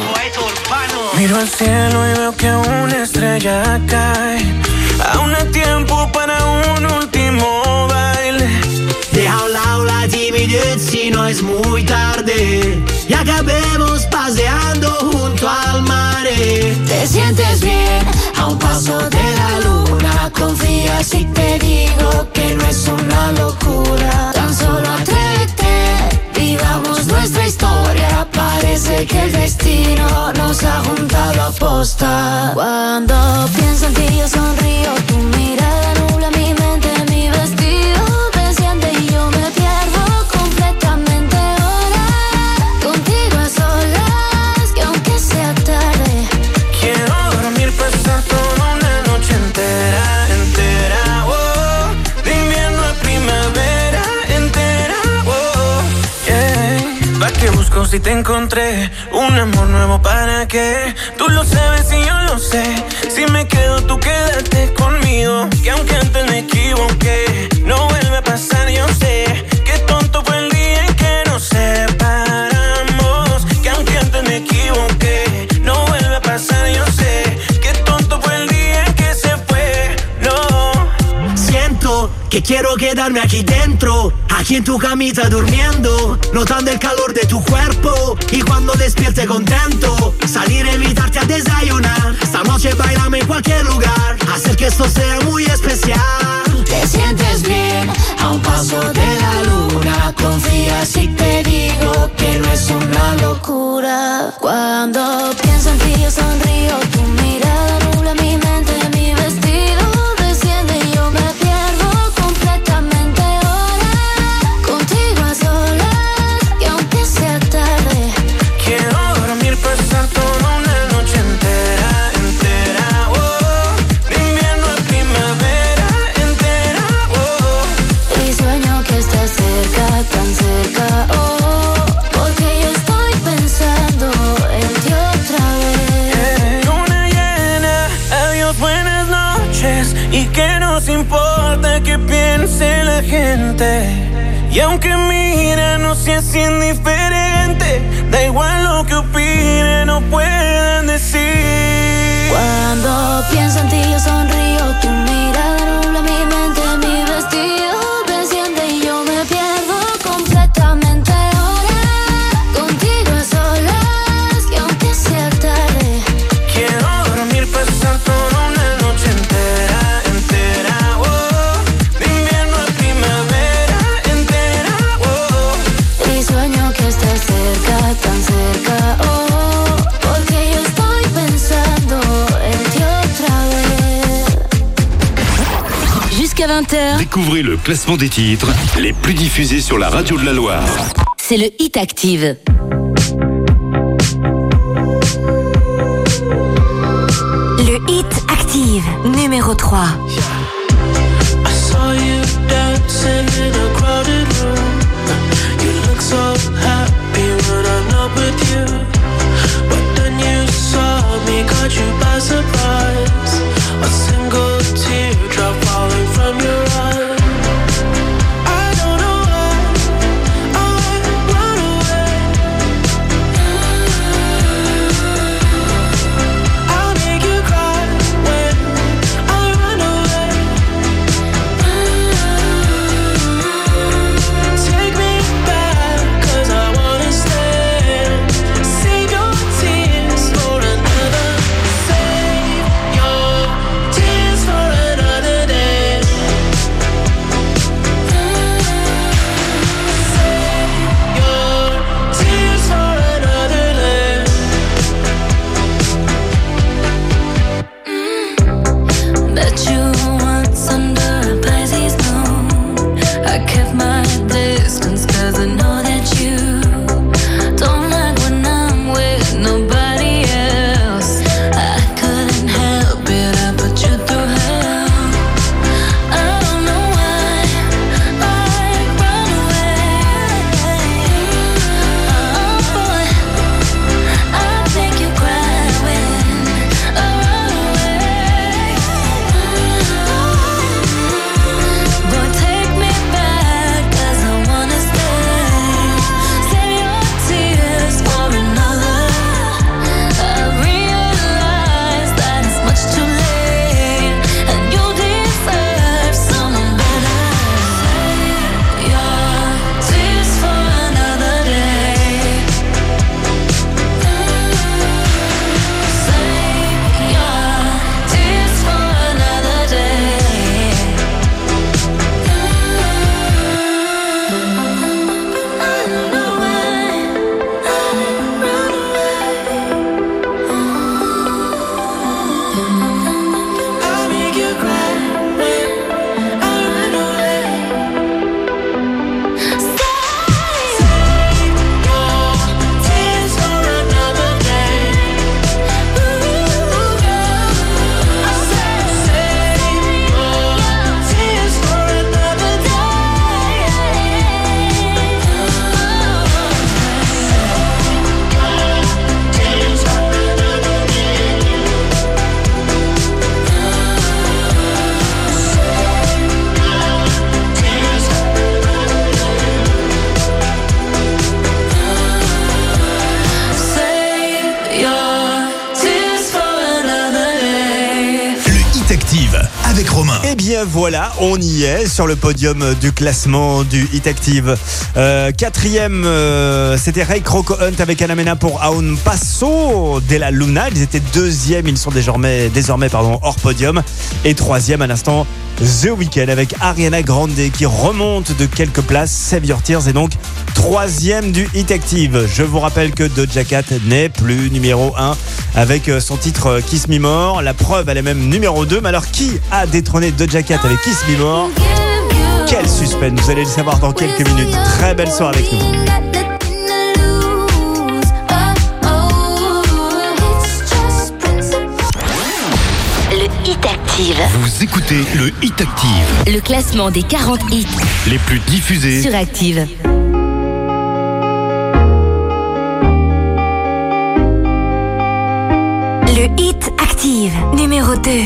Miro al cielo y veo que una estrella cae. Aún hay tiempo para un último baile. Deja a un lado la timidez si no es muy tarde. Y acabemos paseando junto al mar. Te sientes bien a un paso de la luna. Confía si te digo que no es una locura. Tan solo atrévete, vivamos nuestra historia. Parece que el destino nos ha juntado a posta. Cuando pienso en ti yo sonrío. Tu mirada nubla mi mente, mi vestido desciende y yo me pierdo completamente ahora. Contigo a solas, que aunque sea tarde, quiero dormir, pasar toda una noche entera, entera, oh. De invierno a primavera, entera, oh, yeah. ¿Pa' qué busco si te encontré? Un amor nuevo, ¿para qué? Tú lo sabes y yo lo sé. Si me quedo, tú quédate conmigo. Que aunque antes me equivoqué, no vuelve a pasar, yo sé. Qué tonto fue el día en que nos separamos. Que aunque antes me equivoqué, no vuelve a pasar, yo sé. Qué tonto fue el día en que se fue, no. Siento que quiero quedarme aquí dentro, aquí en tu camita durmiendo, notando el calor de tu cuerpo. Y cuando despierte contento, salir a invitarte a desayunar. Esta noche bailame en cualquier lugar, hacer que esto sea muy especial. te sientes bien a un paso de la luna. Confía si te digo que no es una locura. Cuando pienso en ti yo sonrío. Tu mirada nubla mi mente, mi vestido desciende y yo me pierdo completamente ahora. Contigo a solas, y aunque sea tarde, quiero dormir, pasar toda una noche entera, entera, oh. De invierno a primavera, entera, oh. y sueño que estás cerca, tan cerca, oh. Porque yo estoy pensando en ti otra vez. Luna llena, adiós, buenas noches. Y que nos importa que piense la gente. Y aunque mira, no seas indiferente. Da igual lo que opinen o puedan decir. Cuando pienso en ti yo sonrío. Tu mirada nubla mi mente, mi vestido desciende y yo me pierdo completamente ahora. Contigo a solas, que aunque sea tarde, quiero dormir, pasar toda una noche entera, entera, oh. De invierno a primavera, entera, oh. y sueño que estás cerca, tan cerca, oh. Porque yo estoy pensando en ti otra vez. Jusqu'à 20h, Découvrez le classement des titres les plus diffusés sur la radio de la Loire. c'est le Hit Active. Le Hit Active, numéro 3. Romain. Eh bien voilà, on y est sur le podium du classement du Hit Active. Quatrième, c'était Ray Rocco Hunt avec Anamena pour Aun Paso de la Luna. Ils étaient deuxième, ils sont désormais hors podium. Et troisième à l'instant, The Weeknd avec Ariana Grande qui remonte de quelques places. Save Your Tears est donc troisième du Hit Active. Je vous rappelle que Doja Cat n'est plus numéro 1 avec son titre Kiss Me More. La preuve, elle est même numéro 2. Mais alors, qui a détrôné Doja Cat avec Kiss Me More? Quel suspense, vous allez le savoir dans quelques minutes. Très belle soirée avec nous. Le Hit Active. Vous écoutez le Hit Active. Le classement des 40 hits Les plus diffusés sur Active. Le Hit Active, numéro 2.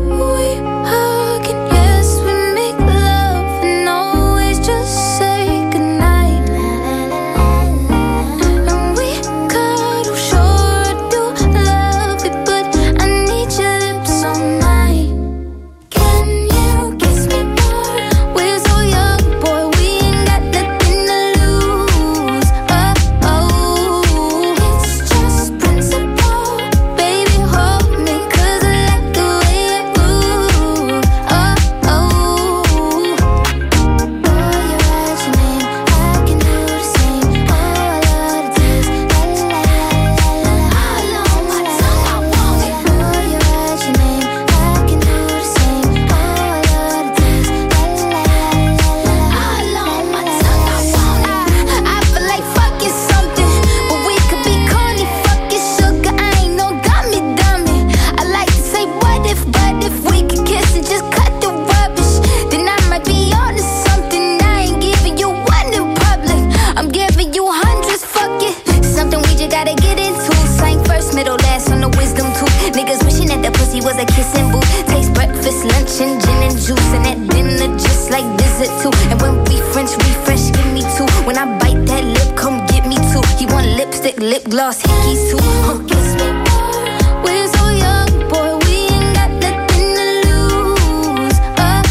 Lip gloss, hickeys too. Kiss me more. We're so young, boy. We ain't got nothing to lose.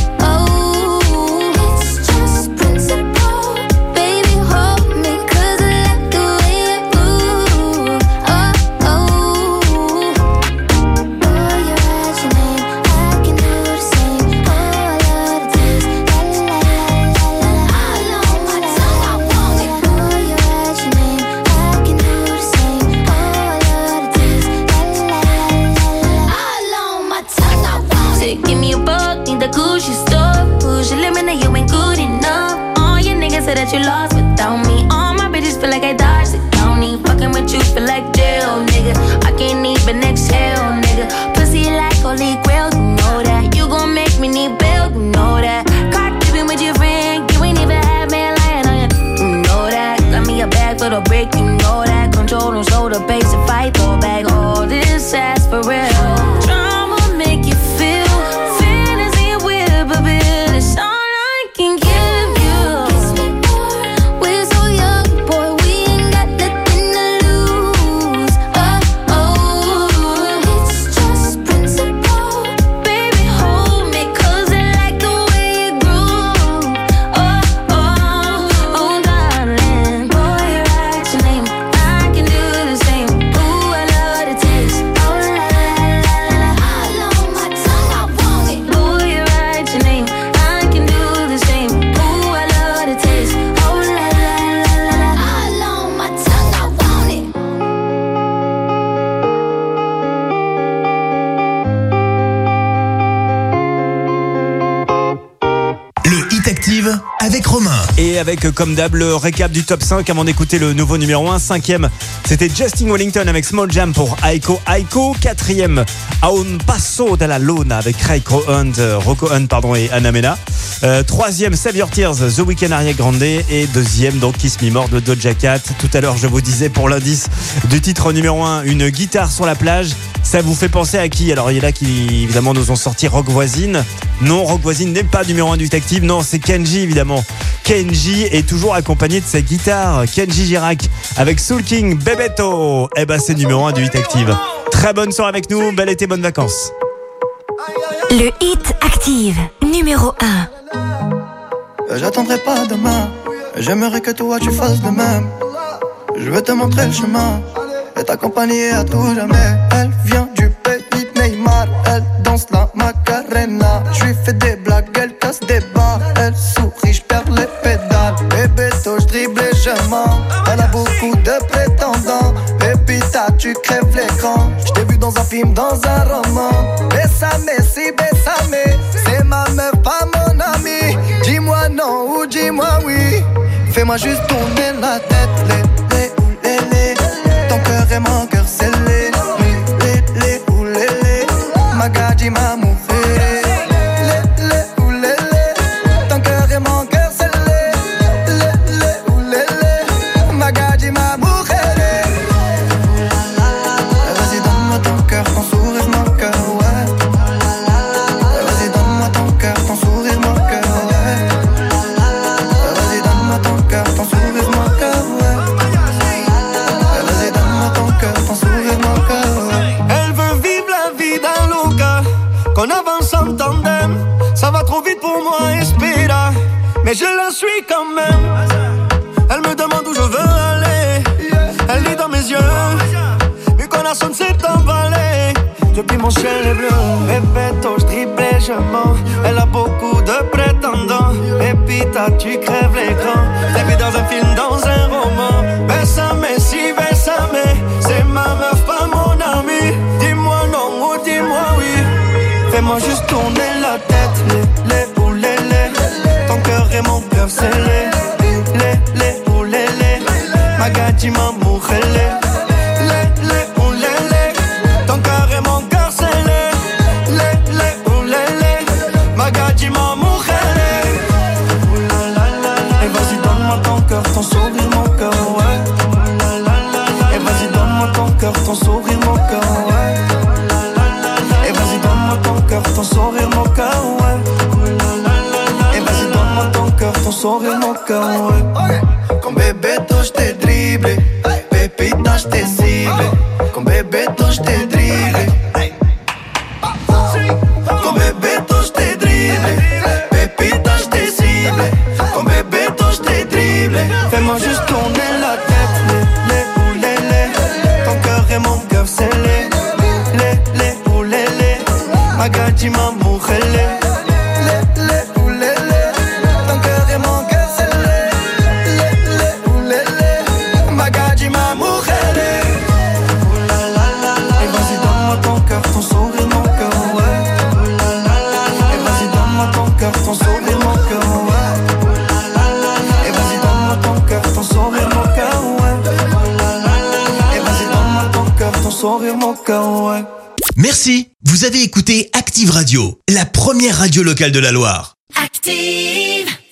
It's just principle. Baby, hold me, 'cause I like the way it moves. Boy, you write your name, I can do the same. Oh, I love the taste. La la la la la. All on my tongue, I want it. Boy, you write your name, I can do. Give me a buck, need the Gucci stuff. Push your limit, you ain't good enough. All your niggas say that you lost without me. All my bitches feel like I dodged the county. Fucking with you feel like jail, nigga. I can't even exhale, nigga. Pussy like holy grail, you know that. You gon' make me need bail, you know that. Caught dipping with your friend, you ain't even had me lying on you. You know that. Got me a bag for the brick, you know that. Control and shoulder, base and fight, throw back. All this ass for real. Drama make you feel. It's all I can give you. Kiss me more. We're so young, boy. We ain't got nothing to lose. It's just principle. Baby, hold me, 'cause I like the way you groove. Darling. Boy, you write your name, I can do the same. Ooh, I love the taste. Oh, la la la la. All on my tongue, I want it. Boy, you write your name. Avec Romain. Et avec, comme d'hab, le récap du top 5 avant d'écouter le nouveau numéro 1. Cinquième, c'était Justin Wellington avec Small Jam pour Aiko Aiko. Quatrième, Aun Paso de la Luna avec Ray Rocco Hunt et Anamena. Troisième, Save Your Tears, The Weeknd, Ariana Grande. Et deuxième, donc Kiss Me More de Doja Cat. Tout à l'heure, je vous disais pour l'indice du titre numéro 1, une guitare sur la plage. Ça vous fait penser à qui? Alors il y en a qui évidemment nous ont sorti Rock Voisine. Non, Rock Voisine n'est pas numéro 1 du Hit Active. Non, c'est Kenji évidemment. Kenji est toujours accompagné de sa guitare. Kenji Girac avec Soul King Bebeto. Eh ben c'est numéro 1 du Hit Active. Très bonne soirée avec nous. Bel été, bonnes vacances. Aïe, aïe, aïe. Le Hit Active, numéro 1. J'attendrai pas demain, j'aimerais que toi tu fasses de même. Je veux te montrer le chemin et t'accompagner à tout jamais. Elle vient du pays de Neymar, elle danse la Macarena. Je lui fais des blagues, elle casse des barres. Elle sourit, je perds les pédales. Bébé, je dribble et je mens. Elle a beaucoup de prétendants. Baby, tu crèves l'écran. Je t'ai vu dans un film, dans un roman. Bésame, si bésame, c'est ma meuf, pas mon ami. Dis-moi non ou dis-moi oui. Fais-moi juste tourner la tête. Ton cœur est mon cœur scellé. Magadji ma mujer. Ton cœur est mon cœur scellé. Magadji ma mujer. Vas-y donne-moi ton cœur, ton sourire, mon cœur, ouais. Vas-y donne-moi ton cœur, ton sourire, mon cœur, ouais. Vas-y donne-moi ton cœur, ton sourire, mon cœur, ouais. Vas-y donne-moi ton cœur, ton sourire, mon cœur, ouais. Elle veut vivre la vie d'un loca, qu'on avance en tandem. Ça va trop vite pour moi, espéra, mais je la suis quand même. Elle me demande où je veux aller. Elle lit dans mes yeux, mi corazón s'est emballé. Depuis mon ciel est bleu, Bebeto, je dribble et je mens. Elle a beaucoup de prétendants. Et puis tu crèves l'écran. T'es vu dans un film, dans un roman. Bésame, si bésame, c'est ma meuf, pas mon ami. Dis-moi non ou dis-moi oui. Fais-moi juste tourner la tête. Les ou les. Ton cœur est mon cœur scellé. Les ou les. Magadji ma mujer. Les ou les. Ton cœur est mon cœur scellé. Les ou les. Magadji ma mujer. Et vas-y donne-moi ton cœur, ton sourire, mon cœur, ouais. Et vas-y donne-moi ton cœur, ton sourire, mon cœur, ouais. Et vas-y donne-moi ton cœur, ton sourire, mon cœur, ouais. Et vas-y donne-moi ton cœur, ton sourire, mon cœur, ouais. Con Bebeto je te dribble, Pepita je te cible. Con Bebeto je te dribble. Con Bebeto je te dribble, Pepita je te cible. Con Bebeto je te dribble. Fais-moi juste tourner la tête. Les ou les. Ton cœur est mon cœur scellé. Les ou les. Magadji ma mujer. Les ou les. Ton cœur est mon cœur scellé. Les ou les. Magadji ma mujer. Et vas-y donne-moi ton cœur, ton sourire, mon cœur, ouais. Et vas-y donne-moi ton cœur, ton sourire, mon cœur, ouais. Et vas-y donne-moi ton cœur, ton sourire, mon cœur, ouais. Et vas-y donne-moi ton cœur, ton sourire, mon cœur, ouais. Merci, vous avez écouté Active Radio, la première radio locale de la Loire. Active.